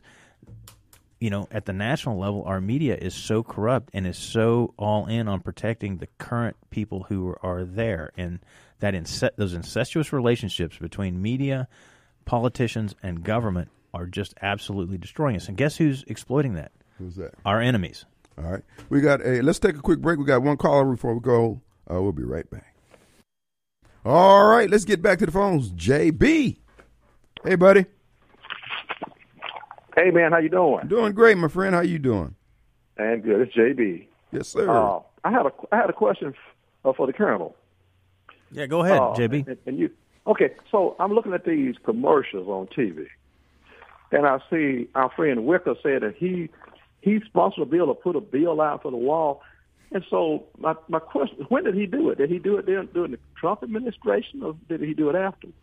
You know, at the national level, our media is so corrupt and is so all in on protecting the current people who are there, and that ince- those incestuous relationships between media, politicians, and government are just absolutely destroying us. And guess who's exploiting that? Who's that? Our enemies. All right. We got a, let's take a quick break. We got one caller before we go. Uh, we'll be right back. All right. Let's get back to the phones. J B. Hey, buddy. Hey, man, how you doing? Doing great, my friend. How you doing? And good. It's J B. Yes, sir. Uh, I had a I had a question f- uh, for the Colonel. Yeah, go ahead, Uh, J B. And, and you, okay? So I'm looking at these commercials on T V, and I see our friend Wicker said that he he sponsored a bill or put a bill out for the wall. And so my my question: when did he do it? Did he do it during, during the Trump administration, or did he do it afterwards?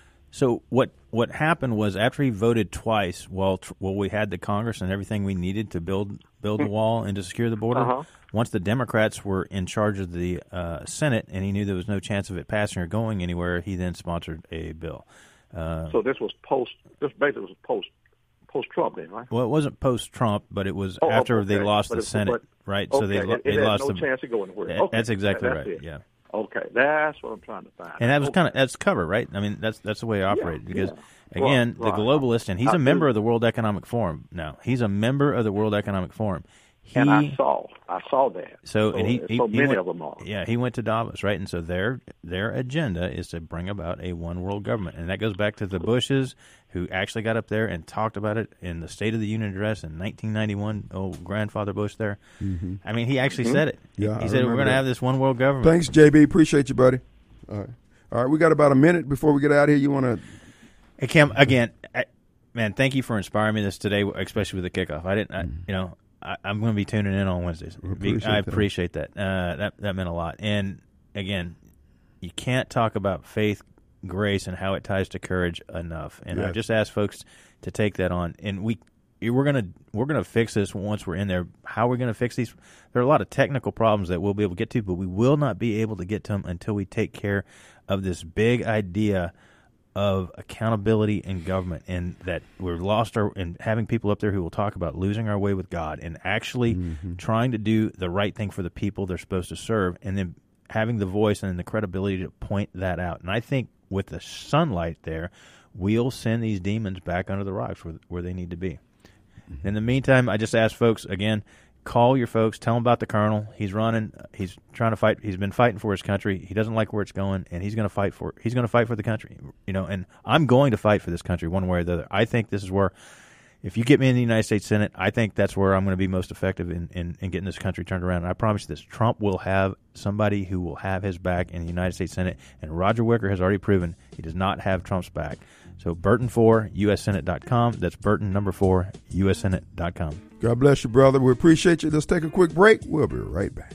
So what what happened was after he voted twice, while while we had the Congress and everything we needed to build build the wall and to secure the border, Uh-huh. once the Democrats were in charge of the uh, Senate and he knew there was no chance of it passing or going anywhere, he then sponsored a bill. Uh, So this was post. This basically was post post Trump, then, right? well, it wasn't post-Trump, but it was Oh, after okay. they lost But the it's- Senate, but- right? Okay. So they lo- it, they it had lost no the. chance of going anywhere. That- Okay. That's exactly That's right. it. Yeah. Okay, that's what I'm trying to find. And that was Okay. kind of that's cover, right? I mean, that's that's the way it operated because yeah. again, Right, the right. globalist, and he's I a member do. of the World Economic Forum. Now, he's a member of the World Economic Forum. He, And I saw, I saw that. So, and he, so he, so he many went, of them are. Yeah, he went to Davos, right? And so their their agenda is to bring about a one world government, and that goes back to the Bushes, who actually got up there and talked about it in the State of the Union address in nineteen ninety-one. Old grandfather Bush there. Mm-hmm. I mean, he actually said it. Yeah, he I said we're remember going to that. have this one world government. Thanks, J B. Appreciate you, buddy. All right. All right. We got about a minute before we get out of here. You want to? Hey, Cam, again, I, man, thank you for inspiring me this today, especially with the kickoff. I didn't, I, you know. I, I'm going to be tuning in on Wednesdays. appreciate I that. appreciate that. Uh, that that meant a lot. And again, you can't talk about faith, grace, and how it ties to courage enough. And I Yes. just ask folks to take that on. And we we're gonna we're gonna fix this once we're in there. How are we going to fix these? There are a lot of technical problems that we'll be able to get to, but we will not be able to get to them until we take care of this big idea of accountability in government, and that we're lost our and having people up there who will talk about losing our way with God and actually Mm-hmm. trying to do the right thing for the people they're supposed to serve, and then having the voice and the credibility to point that out. And I think with the sunlight there, we'll send these demons back under the rocks where, where they need to be. Mm-hmm. In the meantime, I just ask folks again, call your folks, tell them about the colonel. He's running, he's trying to fight. He's been fighting for his country. He doesn't like where it's going, and he's going to fight for. He's going to fight for the country, you know. And I'm going to fight for this country one way or the other. I think this is where, if you get me in the United States Senate, I think that's where I'm going to be most effective in, in, in getting this country turned around. And I promise you this, Trump will have somebody who will have his back in the United States Senate, and Roger Wicker has already proven he does not have Trump's back. So Burton four, U S Senate dot com. That's Burton number four, U S Senate dot com. God bless you, brother. We appreciate you. Let's take a quick break. We'll be right back.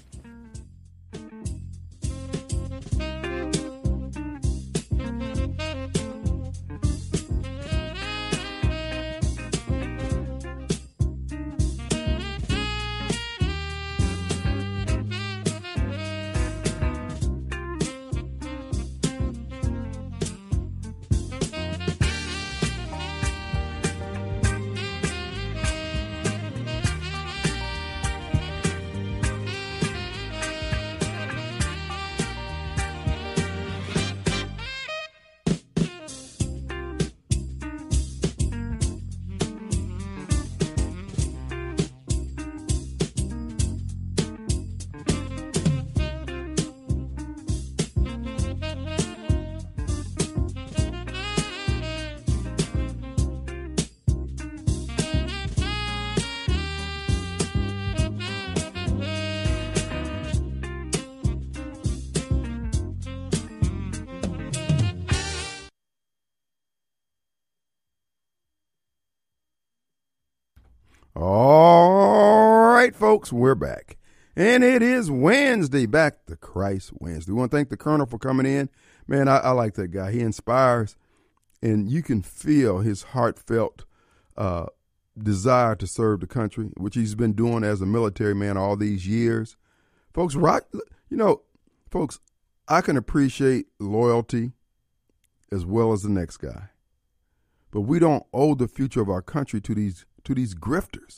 All right, folks, we're back. And it is Wednesday, back to Christ Wednesday. We want to thank the Colonel for coming in. Man, I, I like that guy. He inspires, and you can feel his heartfelt uh, desire to serve the country, which he's been doing as a military man all these years. Folks, rock, you know, folks, I can appreciate loyalty as well as the next guy. But we don't owe the future of our country to these to these grifters.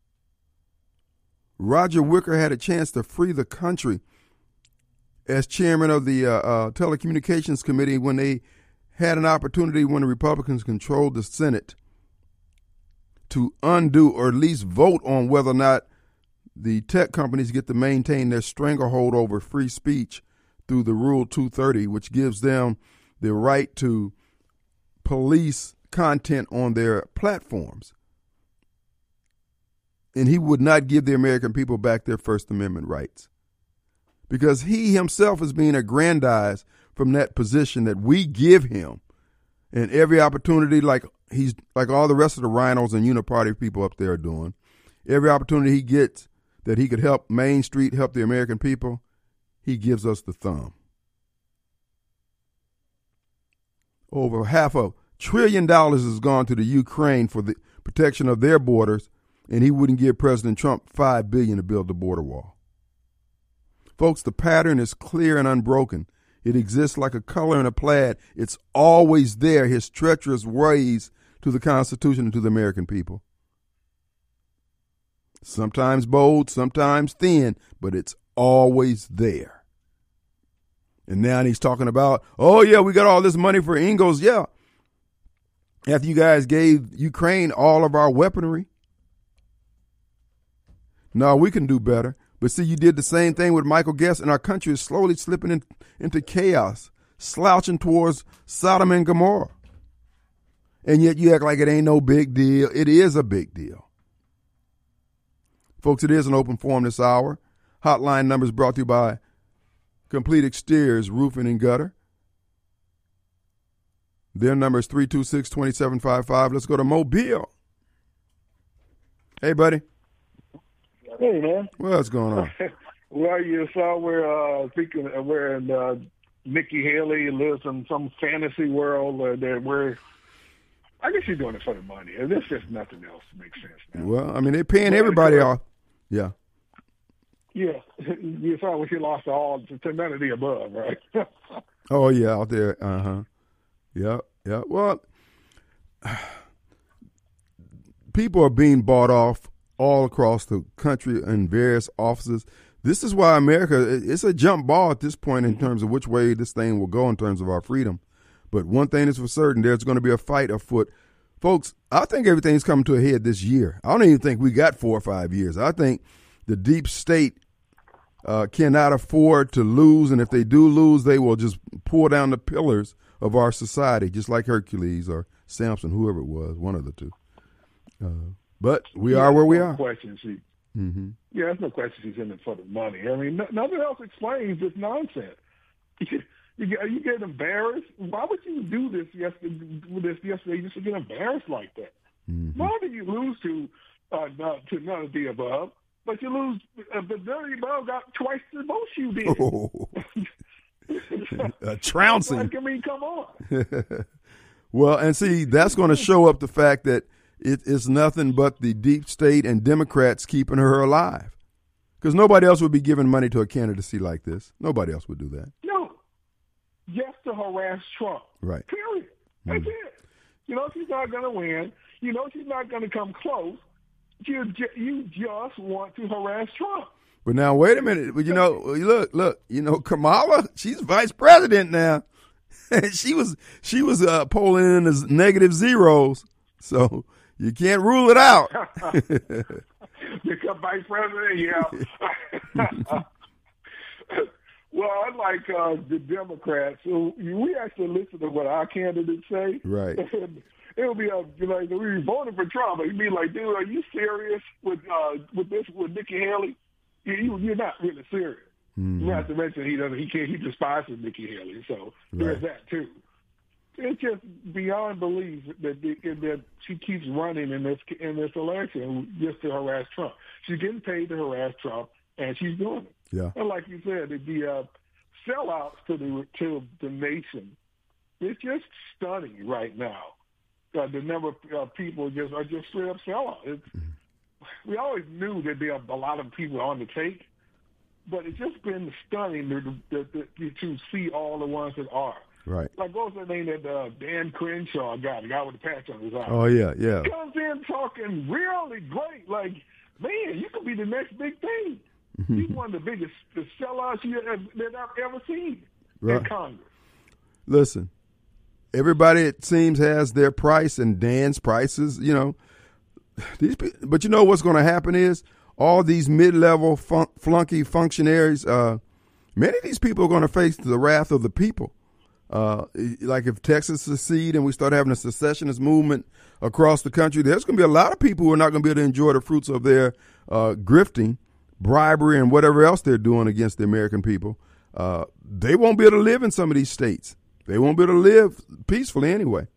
Roger Wicker had a chance to free the country as chairman of the uh, uh, Telecommunications Committee when they had an opportunity when the Republicans controlled the Senate to undo or at least vote on whether or not the tech companies get to maintain their stranglehold over free speech through the Rule two thirty, which gives them the right to police content on their platforms. And he would not give the American people back their First Amendment rights because he himself is being aggrandized from that position that we give him. And every opportunity, like he's like all the rest of the rhinos and uniparty people up there are doing, every opportunity he gets that he could help Main Street, help the American people, he gives us the thumb. Over half a trillion dollars has gone to the Ukraine for the protection of their borders, and he wouldn't give President Trump five billion dollars to build the border wall. Folks, the pattern is clear and unbroken. It exists like a color in a plaid. It's always there, his treacherous ways to the Constitution and to the American people. Sometimes bold, sometimes thin, but it's always there. And now he's talking about, oh, yeah, we got all this money for Ingalls. Yeah. After you guys gave Ukraine all of our weaponry. No, we can do better. But see, you did the same thing with Michael Guest, and our country is slowly slipping in, into chaos, slouching towards Sodom and Gomorrah. And yet you act like it ain't no big deal. It is a big deal. Folks, it is an open forum this hour. Hotline numbers brought to you by Complete Exteriors, Roofing and Gutter. Their number is three two six, two seven five five. Let's go to Mobile. Hey, buddy. Hey, man. What's going on? Well, you saw where, uh, speaking of where uh, Nikki Haley lives in some fantasy world uh, that where I guess she's doing it for the money. And there's just nothing else that makes sense now. Well, I mean, they're paying everybody off. Yeah. Yeah. You saw when she lost all to none of the above, right? Oh, yeah, out there. Uh-huh. Yeah, yeah. Well, people are being bought off all across the country in various offices. This is why America, it's a jump ball at this point in terms of which way this thing will go in terms of our freedom. But one thing is for certain, there's going to be a fight afoot. Folks, I think everything's coming to a head this year. I don't even think we got four or five years. I think the deep state uh, cannot afford to lose, and if they do lose, they will just pull down the pillars of our society, just like Hercules or Samson, whoever it was, one of the two. Uh, but we are where we no are. Question she, Mm-hmm. yeah, there's no question she's in it for the money. I mean, no, nothing else explains this nonsense. You, you, get, you get embarrassed. Why would you do this yesterday? This yesterday, just to get embarrassed like that? Mm-hmm. Not that you lose to uh, not, to none of the above, but you lose. Uh, the none of the above got twice the most you did. Oh. A trouncing. Like, I mean, come on. Well, and see, that's going to show up the fact that it is nothing but the deep state and Democrats keeping her alive. Because nobody else would be giving money to a candidacy like this. Nobody else would do that. No, just to harass Trump. Right. Period. That's Mm. it. You know she's not going to win. You know she's not going to come close. You ju- you just want to harass Trump. But now, wait a minute. Well, you know, look, look. You know, Kamala, she's vice president now. she was she was uh, polling in as negative zeros, so you can't rule it out. Become vice president, yeah. Well, unlike uh, the Democrats, who we actually listen to what our candidates say. Right. It'll be a, you know, we voted for Trump. You'd be like, dude, are you serious with uh, with this with Nikki Haley? You, you, you're not really serious. Mm-hmm. Not to mention he doesn't, he can't, he despises Nikki Haley. So there's Right. that too. It's just beyond belief that the, that she keeps running in this in this election just to harass Trump. She's getting paid to harass Trump, and she's doing it. Yeah. And like you said, the, the uh, sellouts to the to the nation, it's just stunning right now. Uh, the number of uh, people just are just straight up sellouts. It's, we always knew that there are a lot of people on the take, but it's just been stunning to, to, to, to see all the ones that are. Right. Like, what was the name that uh, Dan Crenshaw got, the guy with the patch on his eye? Oh, yeah, yeah. He comes in talking really great. Like, man, you could be the next big thing. He's one of the biggest the sellouts you have, that I've ever seen Right. in Congress. Listen, everybody, it seems, has their price, and Dan's prices, you know. These, pe- but you know what's going to happen is all these mid-level fun- flunky functionaries, uh, many of these people are going to face the wrath of the people. Uh, like if Texas secede and we start having a secessionist movement across the country, there's going to be a lot of people who are not going to be able to enjoy the fruits of their uh, grifting, bribery, and whatever else they're doing against the American people. Uh, they won't be able to live in some of these states. They won't be able to live peacefully anyway.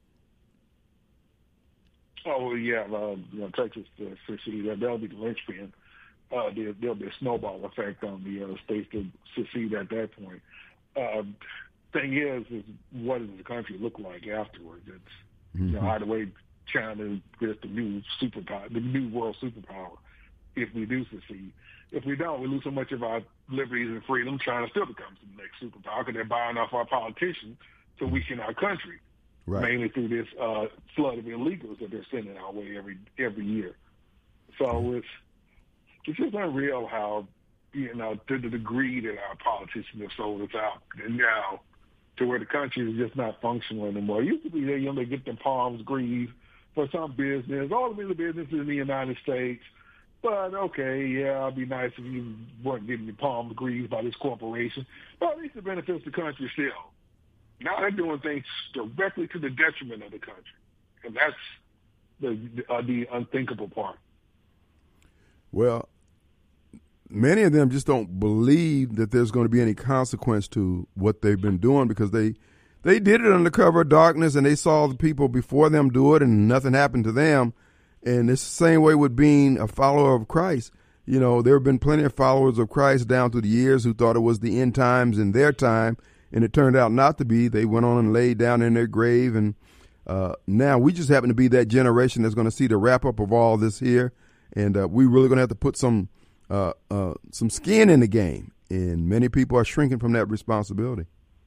Oh, yeah, uh, you know, Texas uh, secede, that, that'll be the linchpin. Uh, there, there'll be a snowball effect on the uh, states that secede at that point. Uh, thing is, is what does the country look like afterwards? It's, mm-hmm. you know, either way, China gets the new superpower, the new world superpower, if we do secede. If we don't, we lose so much of our liberties and freedom, China still becomes the next superpower because they're buying off our politicians to weaken our country, Right. mainly through this uh, flood of illegals that they're sending our way every every year. So it's it's just unreal how, you know, to the degree that our politicians have sold us out, and now to where the country is just not functional anymore. It used to be that, you know, they get their palms greased for some business, all the businesses in the United States. But, okay, yeah, it'd be nice if you weren't getting your palms greased by this corporation. But at least it benefits the country still. Now they're doing things directly to the detriment of the country. And that's the uh, the unthinkable part. Well, many of them just don't believe that there's going to be any consequence to what they've been doing because they they did it under cover of darkness and they saw the people before them do it and nothing happened to them. And it's the same way with being a follower of Christ. You know, there have been plenty of followers of Christ down through the years who thought it was the end times in their time, and it turned out not to be. They went on and laid down in their grave, and uh, now we just happen to be that generation that's going to see the wrap-up of all this here, and uh, we really going to have to put some uh, uh, some skin in the game, and many people are shrinking from that responsibility.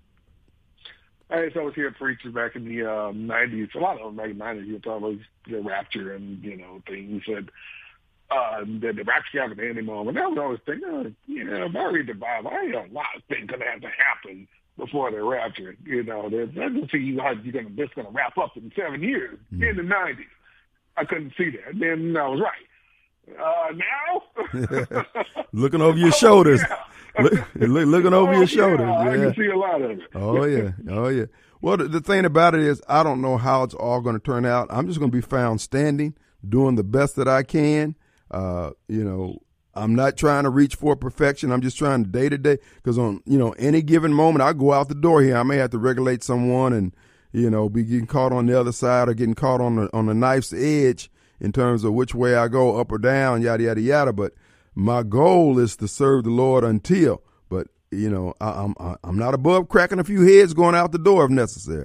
I used to always hear preachers back in the uh, nineties, a lot of them back in the nineties, you talk about the rapture and, you know, things that uh, that the rapture happened at any moment. And I would always think, oh, you know, if I read the Bible, I know a lot of things going to have to happen before the rapture. You know, there's, I didn't see how you're going to, this going to wrap up in seven years mm-hmm. in the nineties. I couldn't see that. Then I was right. Uh, now? Looking over your shoulders. Oh, yeah. Look, look, looking over oh, your shoulders. Yeah, Yeah. I can see a lot of it. Oh, yeah. Oh, yeah. Well, the, the thing about it is I don't know how it's all going to turn out. I'm just going to be found standing doing the best that I can. Uh, you know, I'm not trying to reach for perfection. I'm just trying to day to day, because on, you know, any given moment I go out the door here, I may have to regulate someone and, you know, be getting caught on the other side or getting caught on the, on the knife's edge in terms of which way I go, up or down, yada, yada, yada. But my goal is to serve the Lord until, but, you know, I, I'm, I'm not above cracking a few heads going out the door if necessary.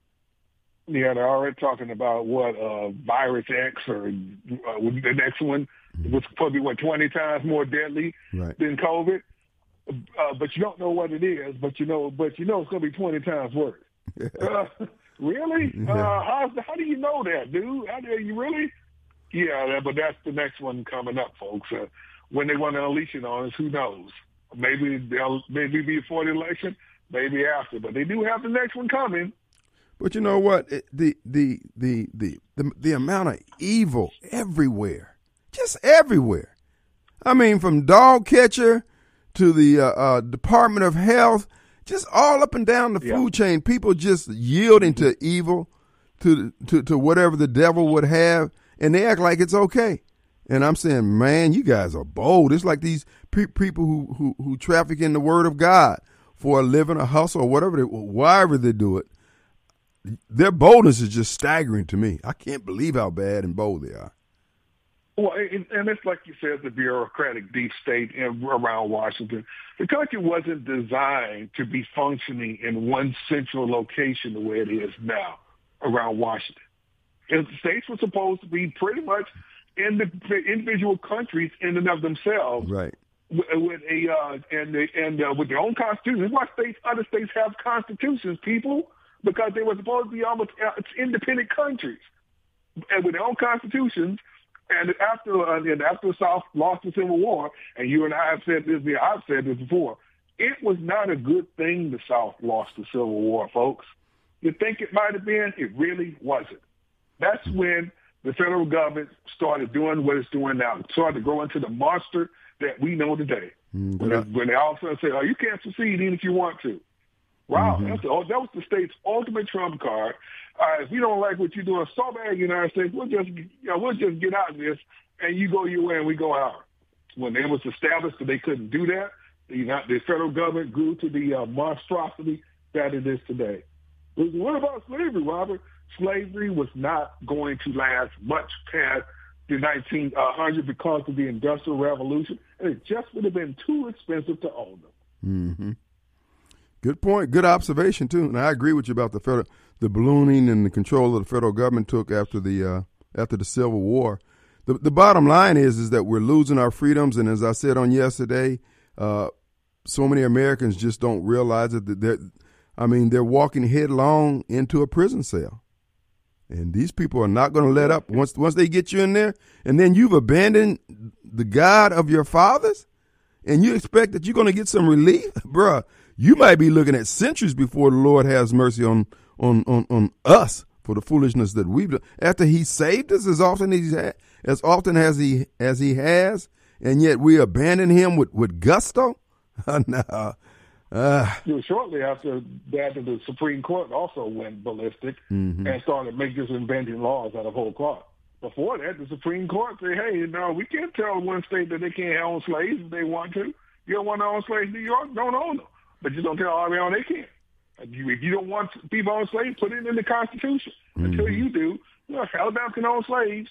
Yeah, they're already talking about what uh, virus X or uh, the next one was probably what twenty times more deadly Right. than COVID. Uh, but you don't know what it is. But you know, but you know it's going to be twenty times worse. uh, really? Yeah. Uh, how how do you know that, dude? How do you really? Yeah, that- but that's the next one coming up, folks. Uh, when they want to unleash it on us, who knows? Maybe they'll maybe before the election, maybe after. But they do have the next one coming. But you know what? It, the, the the the the the amount of evil everywhere, just everywhere. I mean, from dog catcher to the uh, uh, Department of Health, just all up and down the Yeah. food chain. People just yielding to evil, to to to whatever the devil would have, and they act like it's okay. And I'm saying, man, you guys are bold. It's like these pe- people who, who who traffic in the Word of God for a living, a hustle, or whatever, they, wherever they do it. Their boldness is just staggering to me. I can't believe how bad and bold they are. Well, and, and it's like you said, the bureaucratic deep state in, around Washington. The country wasn't designed to be functioning in one central location the way it is now around Washington. And the states were supposed to be pretty much in the individual countries in and of themselves, Right. with, with a uh, and the, and uh, with their own constitutions. Why states, other states have constitutions, people, because they were supposed to be almost uh, independent countries, and with their own constitutions. And after uh, and after the South lost the Civil War, and you and I have said this, I've said this before, it was not a good thing the South lost the Civil War, folks. You think it might have been? It really wasn't. That's when the federal government started doing what it's doing now. It started to grow into the monster that we know today. Mm-hmm. When, they, when they all of a sudden say, oh, you can't secede even if you want to. Wow, Mm-hmm. that's the, oh, that was the state's ultimate trump card. Uh, if you don't like what you're doing so bad in the United States, we'll just, you know, we'll just get out of this, and you go your way and we go ours. When it was established that they couldn't do that, the, the federal government grew to the uh, monstrosity that it is today. What about slavery, Robert? Slavery was not going to last much past the nineteen hundreds because of the Industrial Revolution, and it just would have been too expensive to own them. Mm-hmm. Good point. Good observation too. And I agree with you about the federal, the ballooning and the control of the federal government took after the uh, after the Civil War. The the bottom line is is that we're losing our freedoms, and as I said on yesterday, uh, so many Americans just don't realize it. That they're, I mean, they're walking headlong into a prison cell. And these people are not going to let up once once they get you in there, and then you've abandoned the God of your fathers, and you expect that you're going to get some relief, bruh. You might be looking at centuries before the Lord has mercy on on on, on us for the foolishness that we've done. After He saved us as often as He ha- as often as He as He has, and yet we abandon Him with with gusto. no. Uh, It was shortly after that that the Supreme Court also went ballistic mm-hmm. and started making just inventing laws out of whole cloth. Before that, the Supreme Court said, hey, no, we can't tell one state that they can't own slaves if they want to. You don't want to own slaves in New York, don't own them. But you don't tell Alabama they can't. If you, if you don't want people own slaves, put it in the Constitution. Mm-hmm. Until you do, you know, Alabama can own slaves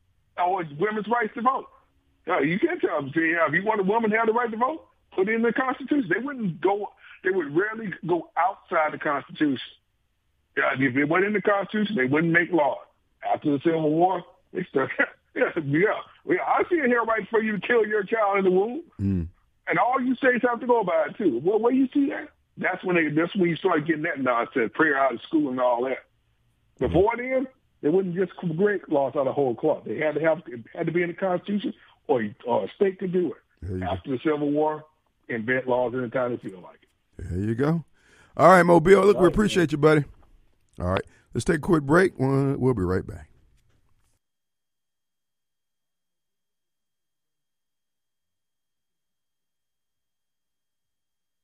or it's women's rights to vote. No, you can't tell them, if you want a woman to have the right to vote, put it in the Constitution. They wouldn't go, they would rarely go outside the Constitution. Yeah, if it went in the Constitution, they wouldn't make laws. After the Civil War, they started, yeah, yeah, yeah. I see it here right for you to kill your child in the womb. Mm. And all you states have to go by it too. Well, where you see that? That's when they. That's when you start getting that nonsense, prayer out of school and all that. Before then, they wouldn't just create laws out of whole cloth. They had to have it had to be in the Constitution, or, or a state could do it. After the Civil War, invent laws anytime they feel like it. There you go. All right, Mobile. Look, we appreciate you, buddy. All right, let's take a quick break. We'll, we'll be right back.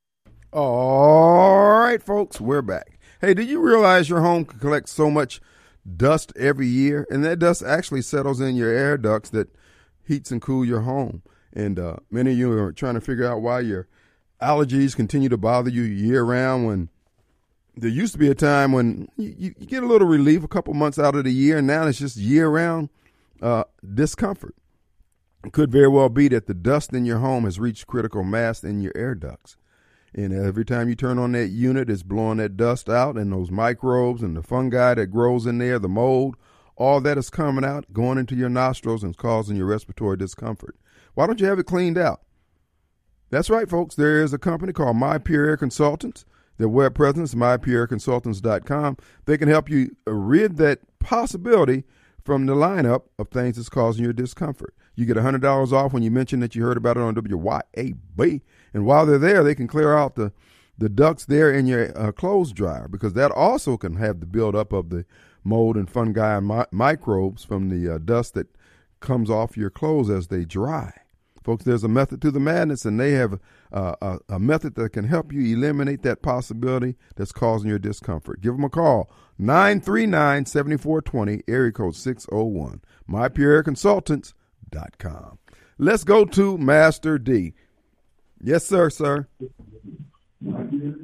All right, folks, we're back. Hey, did you realize your home can collect so much dust every year, and that dust actually settles in your air ducts that heats and cool your home. And uh, many of you are trying to figure out why your allergies continue to bother you year round, when there used to be a time when you, you, you get a little relief a couple months out of the year, and now it's just year round uh, discomfort. It could very well be that the dust in your home has reached critical mass in your air ducts. And every time you turn on that unit, it's blowing that dust out, and those microbes and the fungi that grows in there, the mold, all that is coming out, going into your nostrils and causing your respiratory discomfort. Why don't you have it cleaned out? That's right, folks. There is a company called My Pure Air Consultants. Their web presence is my pure air consultants dot com. They can help you rid that possibility from the lineup of things that's causing your discomfort. You get one hundred dollars off when you mention that you heard about it on W Y A B. And while they're there, they can clear out the, the ducts there in your uh, clothes dryer, because that also can have the buildup of the mold and fungi and mi- microbes from the uh, dust that comes off your clothes as they dry. Folks, there's a method to the madness, and they have uh, a, a method that can help you eliminate that possibility that's causing your discomfort. Give them a call, nine three nine, seven four two zero, area code six oh one, my pure air consultants dot com. Let's go to Master D. Yes, sir, sir. Oh,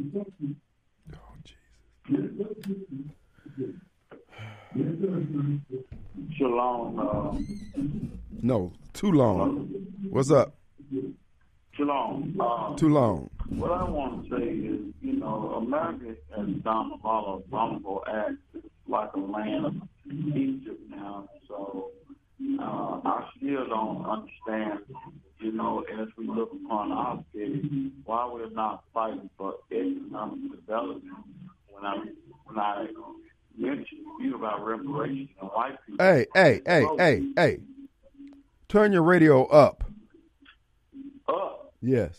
Jesus. Shalom. Uh, No, too long. What's up? Shalom. Uh, Too long. What I want to say is, you know, America has done a lot of vulnerable acts. It's like a land of Egypt now. So uh, I still don't understand, you know, as we look upon our city, why we're not fighting for economic development. When I when I mentioned to you about reparations and white people. Hey, hey, hey, hey, hey. Turn your radio up. Up. Yes.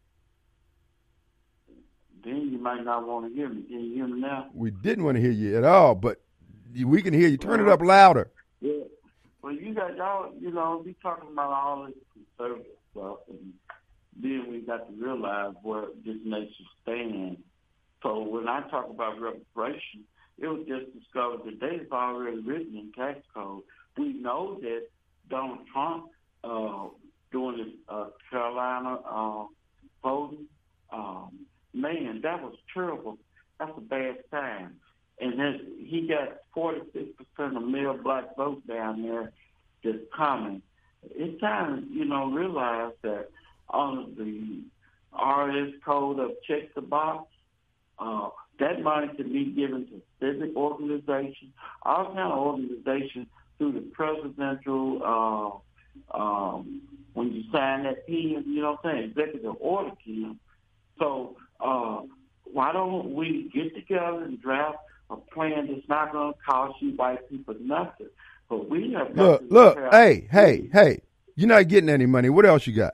Then you might not want to hear me. Can you hear me now? We didn't want to hear you at all, but we can hear you. Turn it up louder. Yeah. Well, you got y'all, you know, be talking about all this conservative stuff, and then we got to realize where this nation stands. So when I talk about reparation, it was just discovered today. It's already written in tax code. We know that Donald Trump uh, doing this uh, Carolina uh, voting, um, man, that was terrible. That's a bad sign. And then he got forty-six percent of male black votes down there that's coming. It's time to, you know, realize that on the R S code of check the box, uh, that money can be given to civic organizations, all kind of organizations through the presidential, uh, um, when you sign that P M, you know what I'm saying, executive order P M. So uh, why don't we get together and draft a plan that's not going to cost you white people nothing? But we have got Look, to look, have- hey, hey, hey. You're not getting any money. What else you got?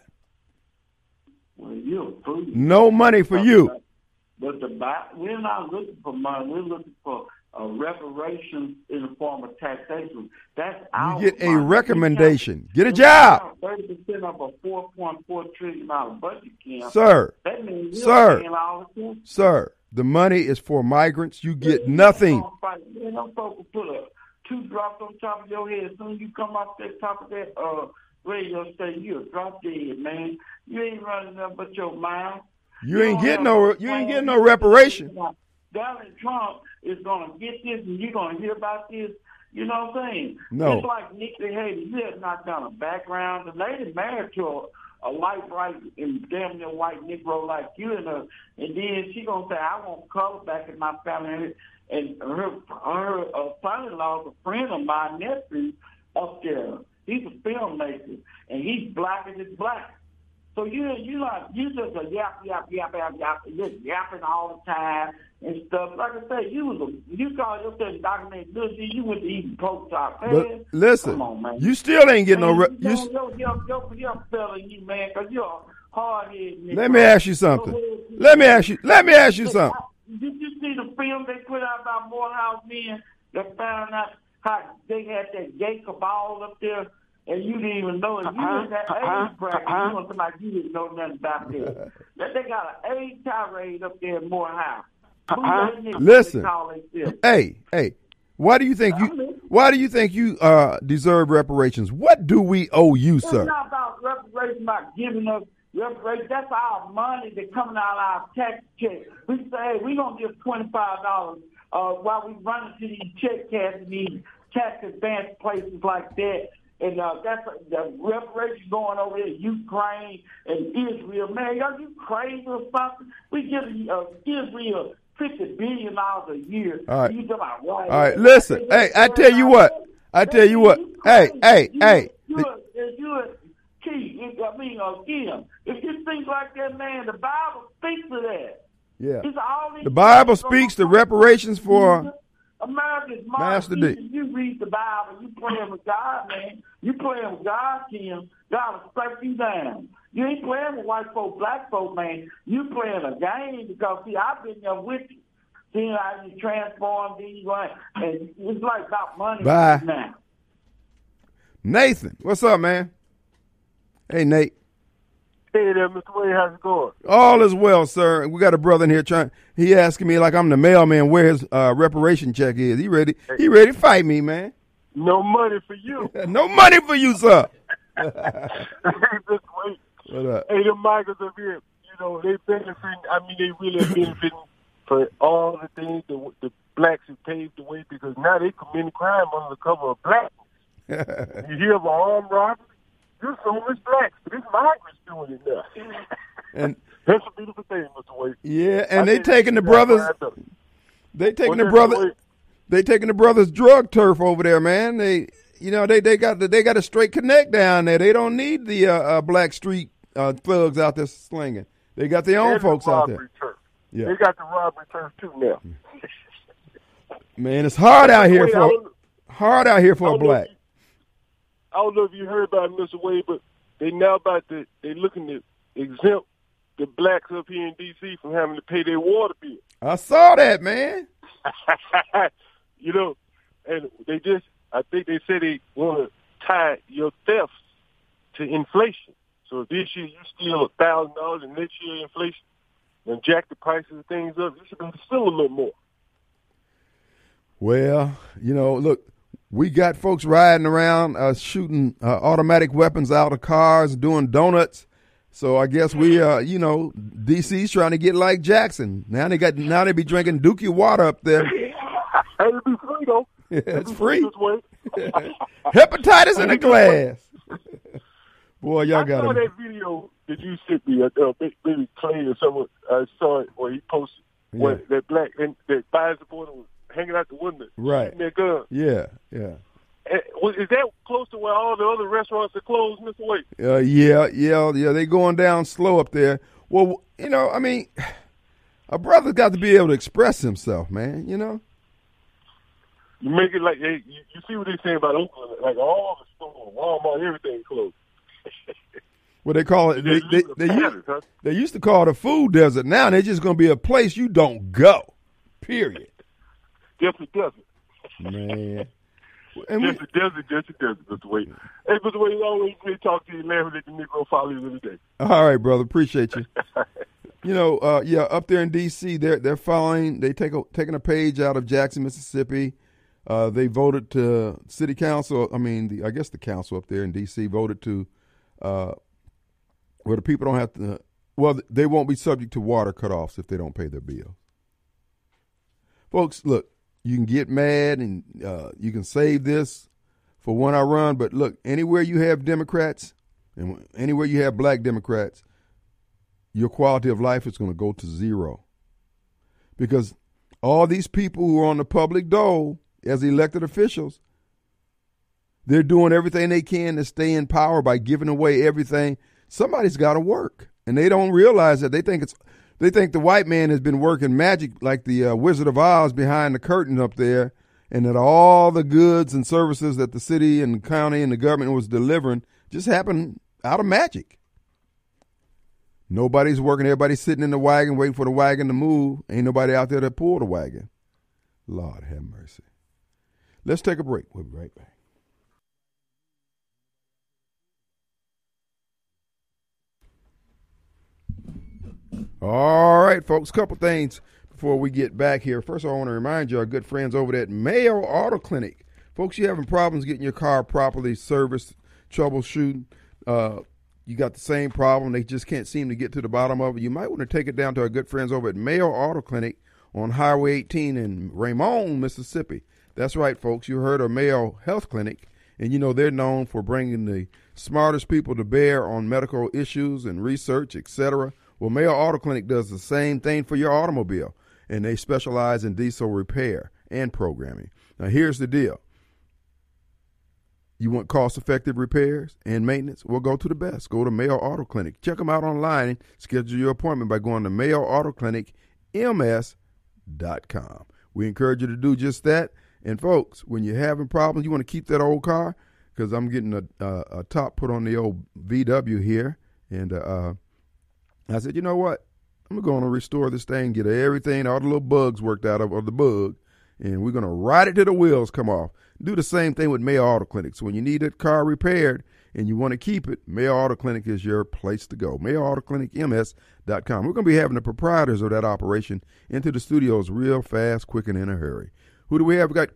Well, you're a fool. No money for you. But the we're not looking for money. We're looking for uh, reparations in the form of taxation. That's our You get a money. recommendation. Get a We job. count Thirty percent of a four point four trillion dollar budget, Kim. Sir, That means you're Sir. paying all the time. sir, the money is for migrants. You get nothing. Man, them folks will put a two drops on top of your head. As soon as you come off that top of that uh, radio station, you'll drop dead, man. You ain't running nothing but your mouth. You ain't don't getting have no, a you ain't plan. getting no reparation. Donald Trump is going to get this, and you're going to hear about this. You know what I'm saying? No. It's like Nikki Haley. You have not done a background. The lady married to a, a light, bright, and damn near white Negro like you, and, uh, and then she going to say, I want color back in my family. And her her uh, son-in-law is a friend of my nephew up there. He's a filmmaker, and he's black as it's black. So you you like you just a yap yap yap yap yap, just yapping all the time and stuff. Like I said, you was a you call yourself documented good. You went to eat pork chop. Man, But listen, come on, man. you still ain't getting no. Man, Re- you you, know, yo, yo, yo, yo, fella, you man, because you're a hard-headed nigga. let me ask you something. Let me ask you. Let me ask you something. Did you see the film they put out about Morehouse men that found out how they had that gay cabal up there, and you didn't even know it? You Uh-huh, in that uh-huh, age bracket, uh-huh. you want somebody you didn't know nothing about this. That they got an AIDS tirade up there in Morehouse. Who Uh-huh. that nigga Listen. they call themselves? Hey, hey, Why do you think you? Why do you think you uh, deserve reparations? What do we owe you, It's sir? not about reparations, about giving us reparations. That's our money that's coming out of our tax check. We say, hey, we're going to give twenty-five dollars uh, while we run into these check cash and these tax advance places like that. And uh, that's the reparations going over there, Ukraine and Israel. Man, are you crazy or something? We give uh, Israel fifty billion dollars a year. All right. You talking about what? All right, listen. Hey, I tell you what. I tell you what. Hey, hey, hey. You, you, you, Key, I mean, uh, Kim, if you think like that, man, the Bible speaks to that. Yeah. It's all these The Bible speaks to reparations for America's Master Master D. You read the Bible, you playing with God, man. You playing with God, Kim. God will strike you down. You ain't playing with white folk, black folk, man. You playing a game because, see, I've been there with you. Seeing how you transform these, right? And it's like about money Bye. now. Nathan. What's up, man? Hey, Nate. Hey there, Mister Wade, how's it going? All is well, sir. We got a brother in here trying. He asking me like I'm the mailman where his uh, reparation check is. He ready? He ready to fight me, man. No money for you. No money for you, sir. Hey, Mister Wade. What up? Hey, the Michaels up here, you know, they benefiting. I mean, they really are benefiting for all the things the, the blacks have paved the way because now they committing crime under the cover of blackness. You hear of an armed robbery? This homeless blacks, but it's migrants doing it now. And that's a beautiful thing, Mister Wade. yeah, and I they think taking the that's brothers. right up. They taking What's the that, brother. Mister Wade? They taking the brothers drug turf over there, man. They, you know, they they got the, they got a straight connect down there. They don't need the uh, uh, black street uh, thugs out there slinging. They got their own And the folks out robbery there. turf. Yeah, They got the robbery turf too now. man, it's hard out here Wade, I for don't- hard out here for I a don't know black. if you- I don't know if you heard about it, Mister Wade, but they now about to they looking to exempt the blacks up here in D C from having to pay their water bill. I saw that, man. You know, and they just I think they said they want to tie your thefts to inflation. So if this year you steal a thousand dollars and next year inflation and jack the prices of things up, you should be able to steal a little more. Well, you know, look, we got folks riding around uh, shooting uh, automatic weapons out of cars, doing donuts. So I guess we, uh, you know, D C's trying to get like Jackson. Now they got, now they be drinking Dookie water up there. Hey, it'll be free though. Yeah, it's It'll be free. this way. Hepatitis in a glass. Boy, y'all I got saw him. that video that you sent me. Uh, maybe Clay or someone. I saw it where he posted where Yeah. that black and that bias supporter was hanging out the window, Right. shooting their gun. Yeah, yeah. And was- is that close to where all the other restaurants are closed, Mister Wade? Uh, yeah, yeah, yeah. They going down slow up there. Well, you know, I mean, a brother's got to be able to express himself, man. You know. You make it like hey, you, you see what they're saying about Oakland, like all the stores, Walmart, everything closed. What they call it? They, they, they, used, Pattern, huh? they used to call it a food desert. Now they're just going to be a place you don't go. Period. Just a desert. Man. And we, Just a desert, just a desert, Mister Wade. Hey, Mister Wade, always great to talk to you, laughing at the Negro followers every day. all right, brother. Appreciate you. You know, uh, yeah, up there in D C, they're they're following. They take a, taking a page out of Jackson, Mississippi. Uh, they voted to city council. I mean, the, I guess the council up there in D C voted to uh, where the people don't have to. Well, they won't be subject to water cutoffs if they don't pay their bill. Folks, look, you can get mad and uh, you can save this for when I run, but look, anywhere you have Democrats and anywhere you have black Democrats, your quality of life is going to go to zero. Because all these people who are on the public dole as elected officials, they're doing everything they can to stay in power by giving away everything. Somebody's got to work, and they don't realize that. They think it's they think the white man has been working magic like the uh, Wizard of Oz behind the curtain up there, and that all the goods and services that the city and the county and the government was delivering just happened out of magic. Nobody's working. Everybody's sitting in the wagon waiting for the wagon to move. Ain't nobody out there to pull the wagon. Lord have mercy. Let's take a break. We'll be right back. All right, folks, couple things before we get back here, first of all, I want to remind you, our good friends over at Mayo Auto Clinic. Folks, you having problems getting your car properly serviced, troubleshooting, uh, you got the same problem, they just can't seem to get to the bottom of it, you might want to take it down to our good friends over at Mayo Auto Clinic on Highway eighteen in Raymond, Mississippi. That's right, folks. You heard of Mayo Health Clinic, and you know they're known for bringing the smartest people to bear on medical issues and research, et cetera. Well, Mayo Auto Clinic does the same thing for your automobile, and they specialize in diesel repair and programming. Now, here's the deal. You want cost-effective repairs and maintenance? Well, go to the best. Go to Mayo Auto Clinic. Check them out online and schedule your appointment by going to Mayo Auto Clinic M S dot com. We encourage you to do just that. And, folks, when you're having problems, you want to keep that old car, because I'm getting a, a, a top put on the old V W here. And uh, I said, you know what? I'm going to restore this thing, get everything, all the little bugs worked out of, of the bug, and we're going to ride it till the wheels come off. Do the same thing with Mayo Auto Clinic. So when you need that car repaired and you want to keep it, Mayo Auto Clinic is your place to go. Mayo Auto Clinic M S dot com. We're going to be having the proprietors of that operation into the studios real fast, quick, and in a hurry. Who do we have? We got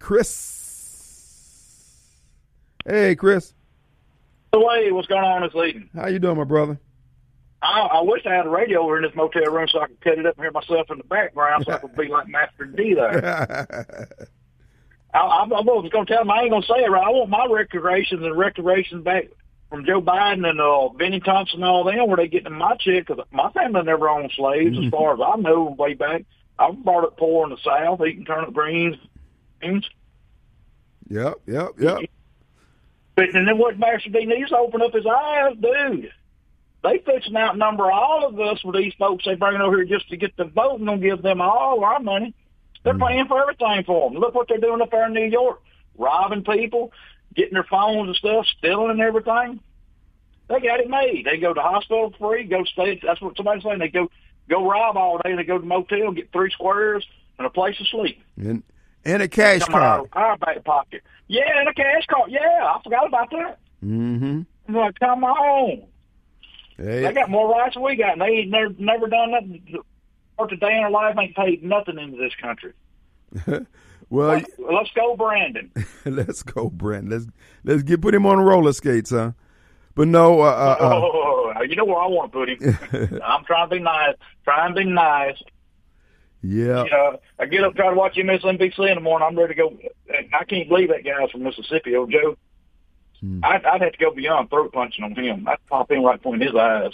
Chris. Hey, Chris. Hey, what's going on this evening? How you doing, my brother? I, I wish I had a radio over in this motel room so I could cut it up and hear myself in the background so I could be like Master D there. I, I, I was going to tell him I ain't going to say it right. I want my restorations and restorations back from Joe Biden and uh, Benny Thompson and all them where they getting my check, because my family never owned slaves as far as I know way back. I was brought up poor in the South, eating turnip greens. greens. Yep, yep, yep. But and then what Master D needs to open up his eyes, dude. They fixing to outnumber all of us with these folks they bring over here just to get the vote and don't give them all our money. They're mm. paying for everything for them. Look what they're doing up there in New York, robbing people, getting their phones and stuff, stealing and everything. They got it made. They go to the hospital for free, go stay. That's what somebody's saying. They go go rob all day. They go to the motel, get three squares and a place to sleep. And and a cash Come card. Out of our back pocket. Yeah, and a cash card. Yeah, I forgot about that. Mm-hmm. I'm like, come on. Hey. They got more rights than we got, and they ain't never, never done nothing. Or today in their life ain't paid nothing into this country. well, let's, let's go, Brandon. let's go, Brandon. Let's let's get put him on roller skates, huh? But no, uh, uh, uh, oh, you know where I want to put him. I'm trying to be nice. Trying to be nice. Yeah. You know, I get up, try to watch M S N B C in the morning. I'm ready to go. I can't believe that guy's from Mississippi, old Joe. Hmm. I'd, I'd have to go beyond throat punching on him. I'd pop in right between his eyes.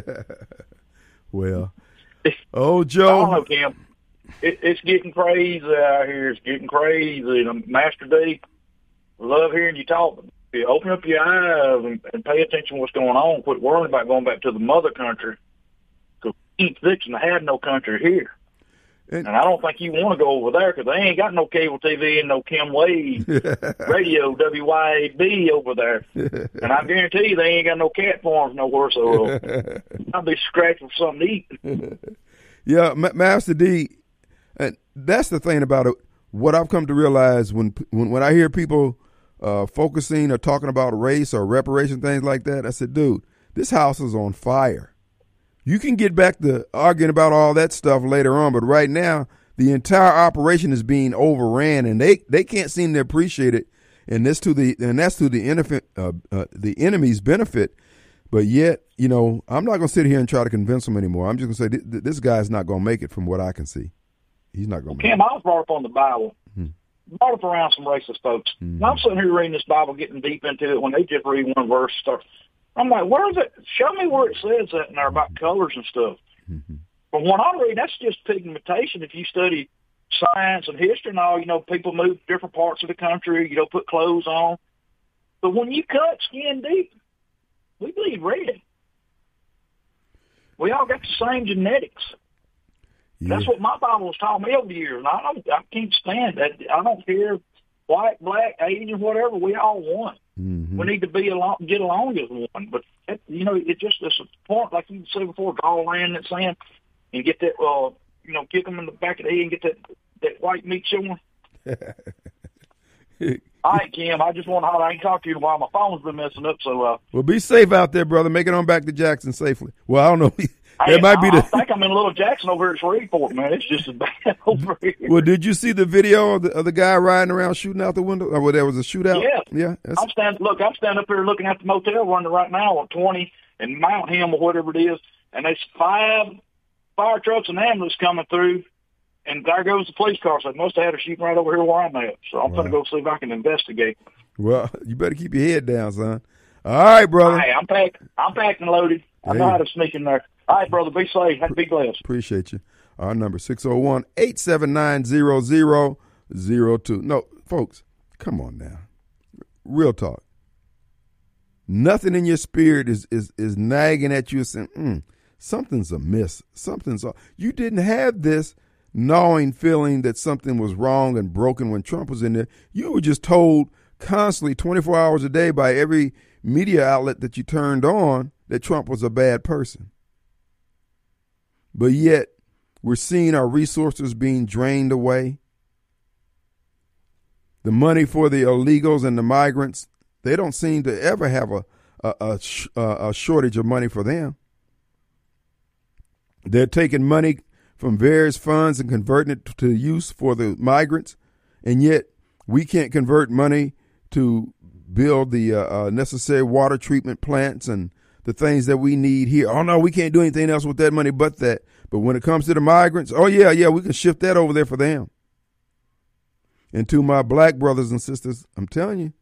well, oh Joe, I don't know, Kim. It, it's getting crazy out here. It's getting crazy. And Master D, love hearing you talk. You open up your eyes and, and pay attention to what's going on. Quit worrying about going back to the mother country. Because we ain't fixing to have no country here. And, and I don't think you want to go over there because they ain't got no cable T V and no Kim Wade radio, W Y A B over there. And I guarantee you they ain't got no cat farms nowhere, so uh, I'll be scratching for something to eat. Yeah, M- Master D, and that's the thing about it. What I've come to realize when when, when I hear people uh, focusing or talking about race or reparation, things like that, I said, dude, this house is on fire. You can get back to arguing about all that stuff later on, but right now the entire operation is being overran, and they, they can't seem to appreciate it. And this to the and that's to the enemy, uh, uh, the enemy's benefit. But yet, you know, I'm not going to sit here and try to convince them anymore. I'm just going to say th- th- this guy's not going to make it from what I can see. He's not going to. Kim, make it. I was brought up on the Bible. Mm-hmm. Brought up around some racist folks. Mm-hmm. And I'm sitting here reading this Bible, getting deep into it. When they just read one verse, start. I'm like, where is it? Show me where it says that in there about colors and stuff. Mm-hmm. But when I read, that's just pigmentation. If you study science and history and all, you know, people move to different parts of the country, you know, put clothes on. But when you cut skin deep, we bleed red. We all got the same genetics. Yeah. That's what my Bible was taught me over the years. And I don't, I can't stand that. I don't care, white, black, Asian, whatever. We all one. Mm-hmm. We need to be along, get along as one. But that, you know, it just it's a point, like you said before, draw a line in that sand and get that, uh, you know, kick them in the back of the head and get that that white meat showing. All right, Kim. I just want to holler. I ain't talk to you while my phone's been messing up. So, uh, well, be safe out there, brother. Make it on back to Jackson safely. Well, I don't know. Hey, That might I, be I the. think I'm in Little Jackson over here at Shreveport, man. It's just as bad over here. Well, did you see the video of the, of the guy riding around shooting out the window? Or well, there was a shootout? Yeah. Yeah. That's, I'm standing. Look, I'm standing up here looking at the motel running right now on twenty and Mount Him or whatever it is, and there's five fire trucks and ambulance coming through, and there goes the police car. So they must have had a shooting right over here where I'm at. So I'm Wow. going to go see if I can investigate. well, you better keep your head down, son. All right, brother. Hey, I'm packed. I'm packed and loaded. I know Hey. how to sneak in there. All right, brother. Be safe. Be blessed. Appreciate you. Our number six oh one, eight seven nine, zero zero zero two. No, folks, come on now. Real talk. Nothing in your spirit is is is nagging at you saying, mm, something's amiss. Something's off. You didn't have this gnawing feeling that something was wrong and broken when Trump was in there. You were just told constantly twenty-four hours a day by every media outlet that you turned on that Trump was a bad person. But yet, we're seeing our resources being drained away. The money for the illegals and the migrants, they don't seem to ever have a, a, a, sh- a shortage of money for them. They're taking money from various funds and converting it to use for the migrants, and yet we can't convert money to build the uh, uh, necessary water treatment plants and the things that we need here. Oh, no, we can't do anything else with that money but that. But when it comes to the migrants, oh, yeah, yeah, we can shift that over there for them. And to my black brothers and sisters, I'm telling you,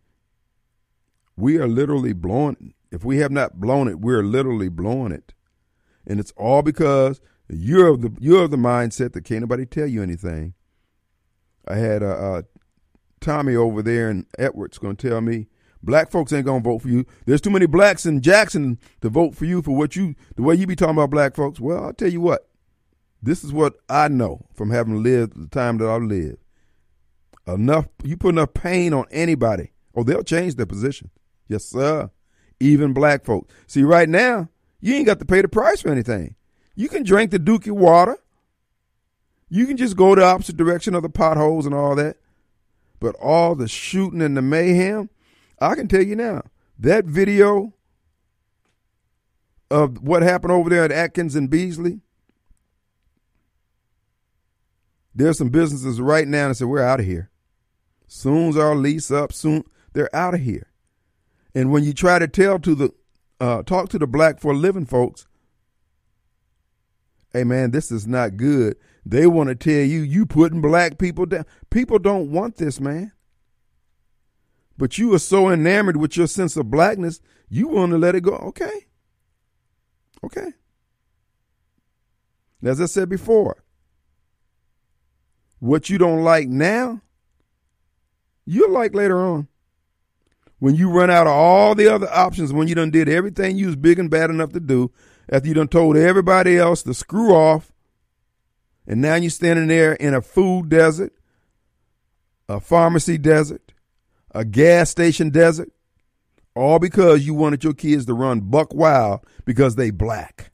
we are literally blowing it. If we have not blown it, we're literally blowing it. And it's all because you're of the you're of the mindset that can't nobody tell you anything. I had uh, uh, Tommy over there in Edwards going to tell me, black folks ain't going to vote for you. There's too many blacks in Jackson to vote for you for what you, the way you be talking about black folks. Well, I'll tell you what. This is what I know from having lived the time that I've lived. Enough, you put enough pain on anybody, oh, they'll change their position. Yes, sir. Even black folks. See, right now, you ain't got to pay the price for anything. You can drink the Dookie water. You can just go the opposite direction of the potholes and all that. But all the shooting and the mayhem, I can tell you now, that video of what happened over there at Atkins and Beasley, there's some businesses right now that say, we're out of here. Soon as our lease up, soon, they're out of here. And when you try to tell to the, uh, talk to the black for a living folks, hey man, this is not good. They want to tell you, you putting black people down. People don't want this, man. But you are so enamored with your sense of blackness, you want to let it go. Okay. Okay. As I said before, what you don't like now, you'll like later on. When you run out of all the other options, when you done did everything you was big and bad enough to do, after you done told everybody else to screw off, and now you're standing there in a food desert, a pharmacy desert, a gas station desert, all because you wanted your kids to run buck wild because they black.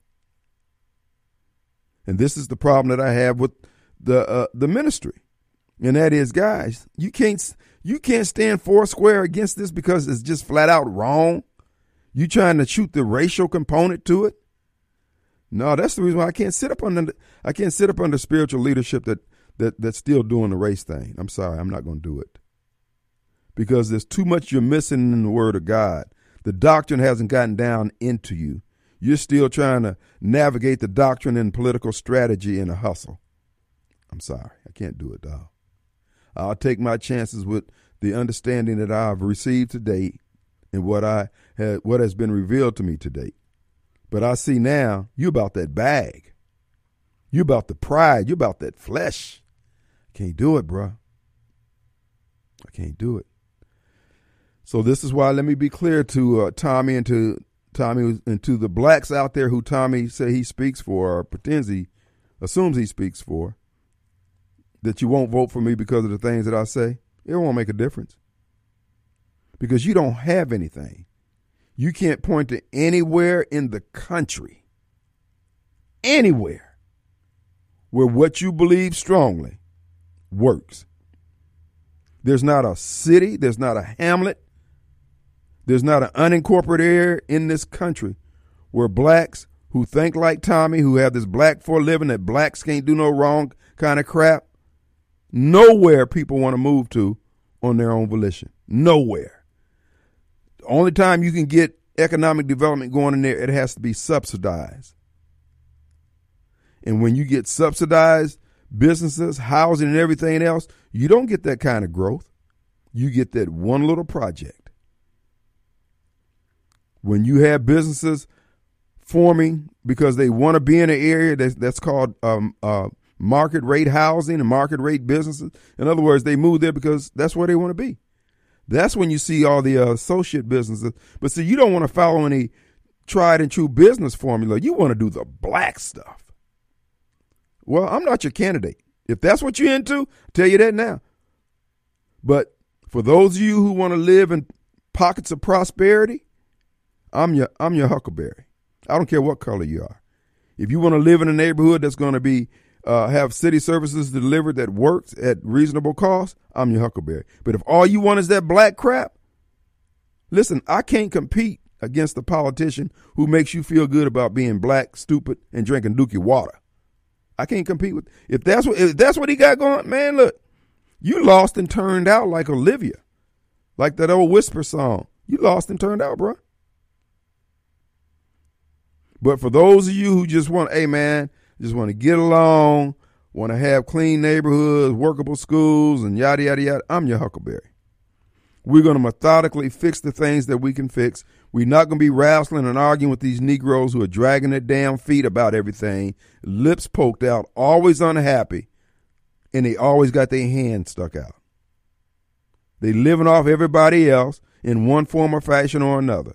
And this is the problem that I have with the uh, the ministry, and that is, guys, you can't you can't stand four square against this because it's just flat out wrong. You trying to shoot the racial component to it? No, that's the reason why I can't sit up under I can't sit up under spiritual leadership that that that's still doing the race thing. I'm sorry, I'm not going to do it because there's too much you're missing in the Word of God. The doctrine hasn't gotten down into you. You're still trying to navigate the doctrine and political strategy in a hustle. I'm sorry, I can't do it, dog. I'll take my chances with the understanding that I've received to date and what I had, what has been revealed to me to date. But I see now you about that bag. You about the pride. You about that flesh. Can't do it, bro. I can't do it. So this is why, let me be clear to uh, Tommy and to Tommy and to the blacks out there who Tommy say he speaks for or pretends he assumes he speaks for, that you won't vote for me because of the things that I say. It won't make a difference because you don't have anything. You can't point to anywhere in the country, anywhere, where what you believe strongly works. There's not a city, there's not a hamlet, there's not an unincorporated area in this country where blacks who think like Tommy, who have this black for a living, that blacks can't do no wrong kind of crap, nowhere people want to move to on their own volition. Nowhere. The only time you can get economic development going in there, it has to be subsidized. And when you get subsidized businesses, housing, and everything else, you don't get that kind of growth. You get that one little project. When you have businesses forming because they want to be in an area that's, that's called um, uh, market rate housing and market rate businesses. In other words, they move there because that's where they want to be. That's when you see all the uh, associate businesses. But see, you don't want to follow any tried and true business formula. You want to do the black stuff. Well, I'm not your candidate. If that's what you're into, I'll tell you that now. But for those of you who want to live in pockets of prosperity, I'm your I'm your huckleberry. I don't care what color you are. If you want to live in a neighborhood that's going to be uh, have city services delivered that works at reasonable cost, I'm your huckleberry. But if all you want is that black crap, listen, I can't compete against a politician who makes you feel good about being black, stupid, and drinking Dookie water. I can't compete with if that's what if that's what he got going. Man, look, you lost and turned out like Olivia, like that old Whisper song. You lost and turned out, bro. But for those of you who just want, hey man, just want to get along, want to have clean neighborhoods, workable schools, and yada yada yada, I'm your huckleberry. We're going to methodically fix the things that we can fix. We're not going to be wrestling and arguing with these Negroes who are dragging their damn feet about everything, lips poked out, always unhappy, and they always got their hand stuck out. They living off everybody else in one form or fashion or another.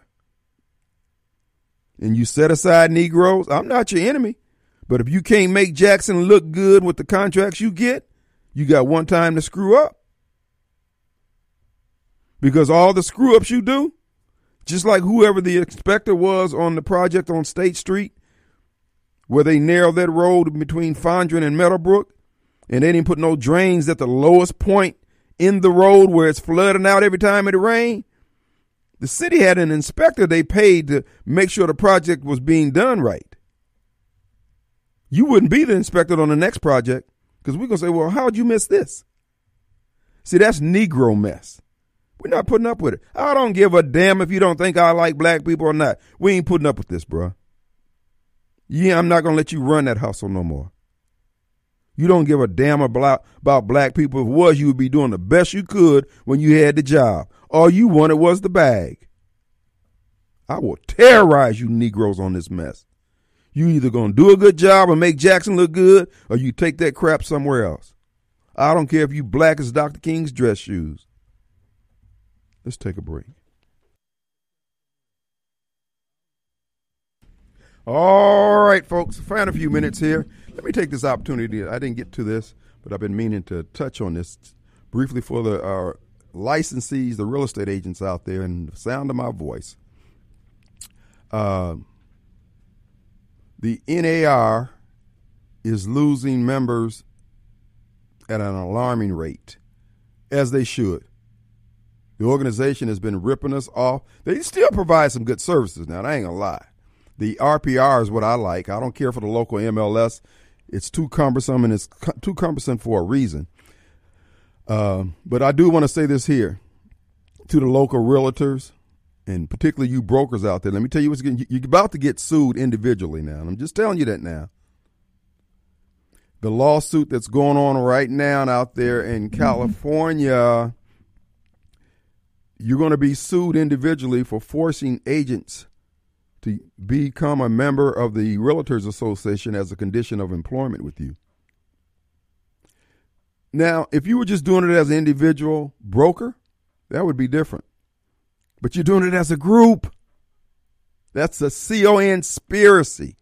And you set aside Negroes, I'm not your enemy, but if you can't make Jackson look good with the contracts you get, you got one time to screw up. Because all the screw ups you do, just like whoever the inspector was on the project on State Street, where they narrowed that road between Fondren and Meadowbrook, and they didn't put no drains at the lowest point in the road where it's flooding out every time it rained. The city had an inspector they paid to make sure the project was being done right. You wouldn't be the inspector on the next project because we're going to say, well, how'd you miss this? See, that's Negro mess. We're not putting up with it. I don't give a damn if you don't think I like black people or not. We ain't putting up with this, bro. Yeah, I'm not going to let you run that hustle no more. You don't give a damn about, about black people. If it was, you would be doing the best you could when you had the job. All you wanted was the bag. I will terrorize you Negroes on this mess. You either going to do a good job and make Jackson look good, or you take that crap somewhere else. I don't care if you black as Doctor King's dress shoes. Let's take a break. All right, folks, find a few minutes here. Let me take this opportunity. I didn't get to this, but I've been meaning to touch on this briefly for the uh, licensees, the real estate agents out there, and the sound of my voice. Uh, the N A R is losing members at an alarming rate, as they should. The organization has been ripping us off. They still provide some good services now. I ain't gonna lie. The R P R is what I like. I don't care for the local M L S. It's too cumbersome, and it's cu- too cumbersome for a reason. Uh, but I do want to say this here to the local realtors, and particularly you brokers out there. Let me tell you what's getting, you're about to get sued individually now. And I'm just telling you that now. The lawsuit that's going on right now out there in California, you're going to be sued individually for forcing agents to become a member of the Realtors Association as a condition of employment with you. Now, if you were just doing it as an individual broker, that would be different. But you're doing it as a group. That's a C O conspiracy.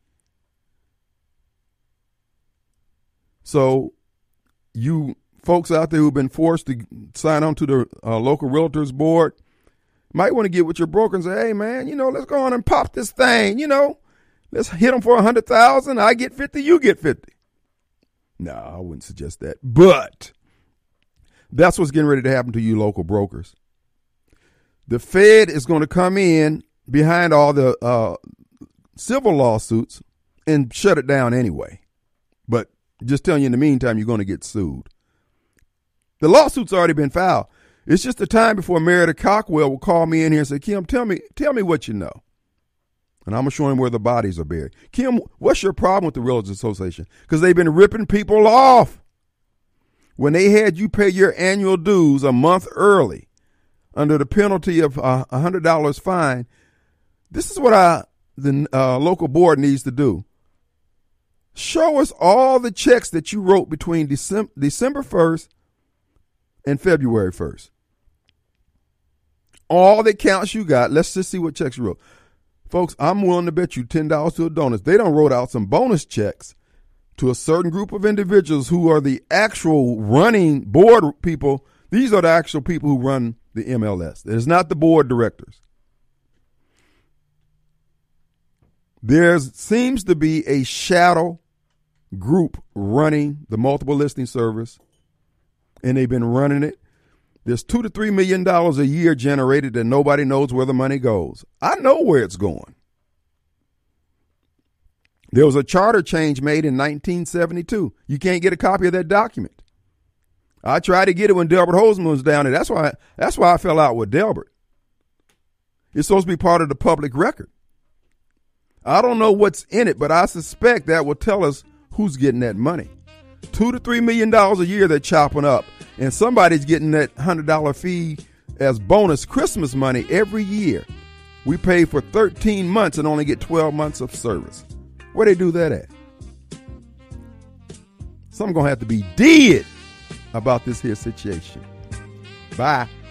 So you folks out there who've been forced to sign on to the uh, local Realtors board might want to get with your broker and say, hey, man, you know, let's go on and pop this thing. You know, let's hit them for one hundred thousand dollars. I get fifty, you get fifty. No, I wouldn't suggest that. But that's what's getting ready to happen to you local brokers. The Fed is going to come in behind all the uh, civil lawsuits and shut it down anyway. But just telling you in the meantime, you're going to get sued. The lawsuit's already been filed. It's just the time before Meredith Cockwell will call me in here and say, Kim, tell me, tell me what you know. And I'm going to show him where the bodies are buried. Kim, what's your problem with the Realtors Association? Because they've been ripping people off. When they had you pay your annual dues a month early under the penalty of a one hundred dollars fine, this is what I, the uh, local board needs to do. Show us all the checks that you wrote between December, December first and February first. All the accounts you got. Let's just see what checks you wrote. Folks, I'm willing to bet you ten dollars to a donut. They don't wrote out some bonus checks to a certain group of individuals who are the actual running board people. These are the actual people who run the M L S. It is not the board directors. There seems to be a shadow group running the multiple listing service, and they've been running it. There's two to three million dollars a year generated and nobody knows where the money goes. I know where it's going. There was a charter change made in nineteen seventy-two. You can't get a copy of that document. I tried to get it when Delbert Hoseman was down there. That's why, that's why I fell out with Delbert. It's supposed to be part of the public record. I don't know what's in it, but I suspect that will tell us who's getting that money. Two to three million dollars a year they're chopping up, and somebody's getting that one hundred dollars fee as bonus Christmas money every year. We pay for thirteen months and only get twelve months of service. Where they do that at? Something gonna have to be did about this here situation. Bye.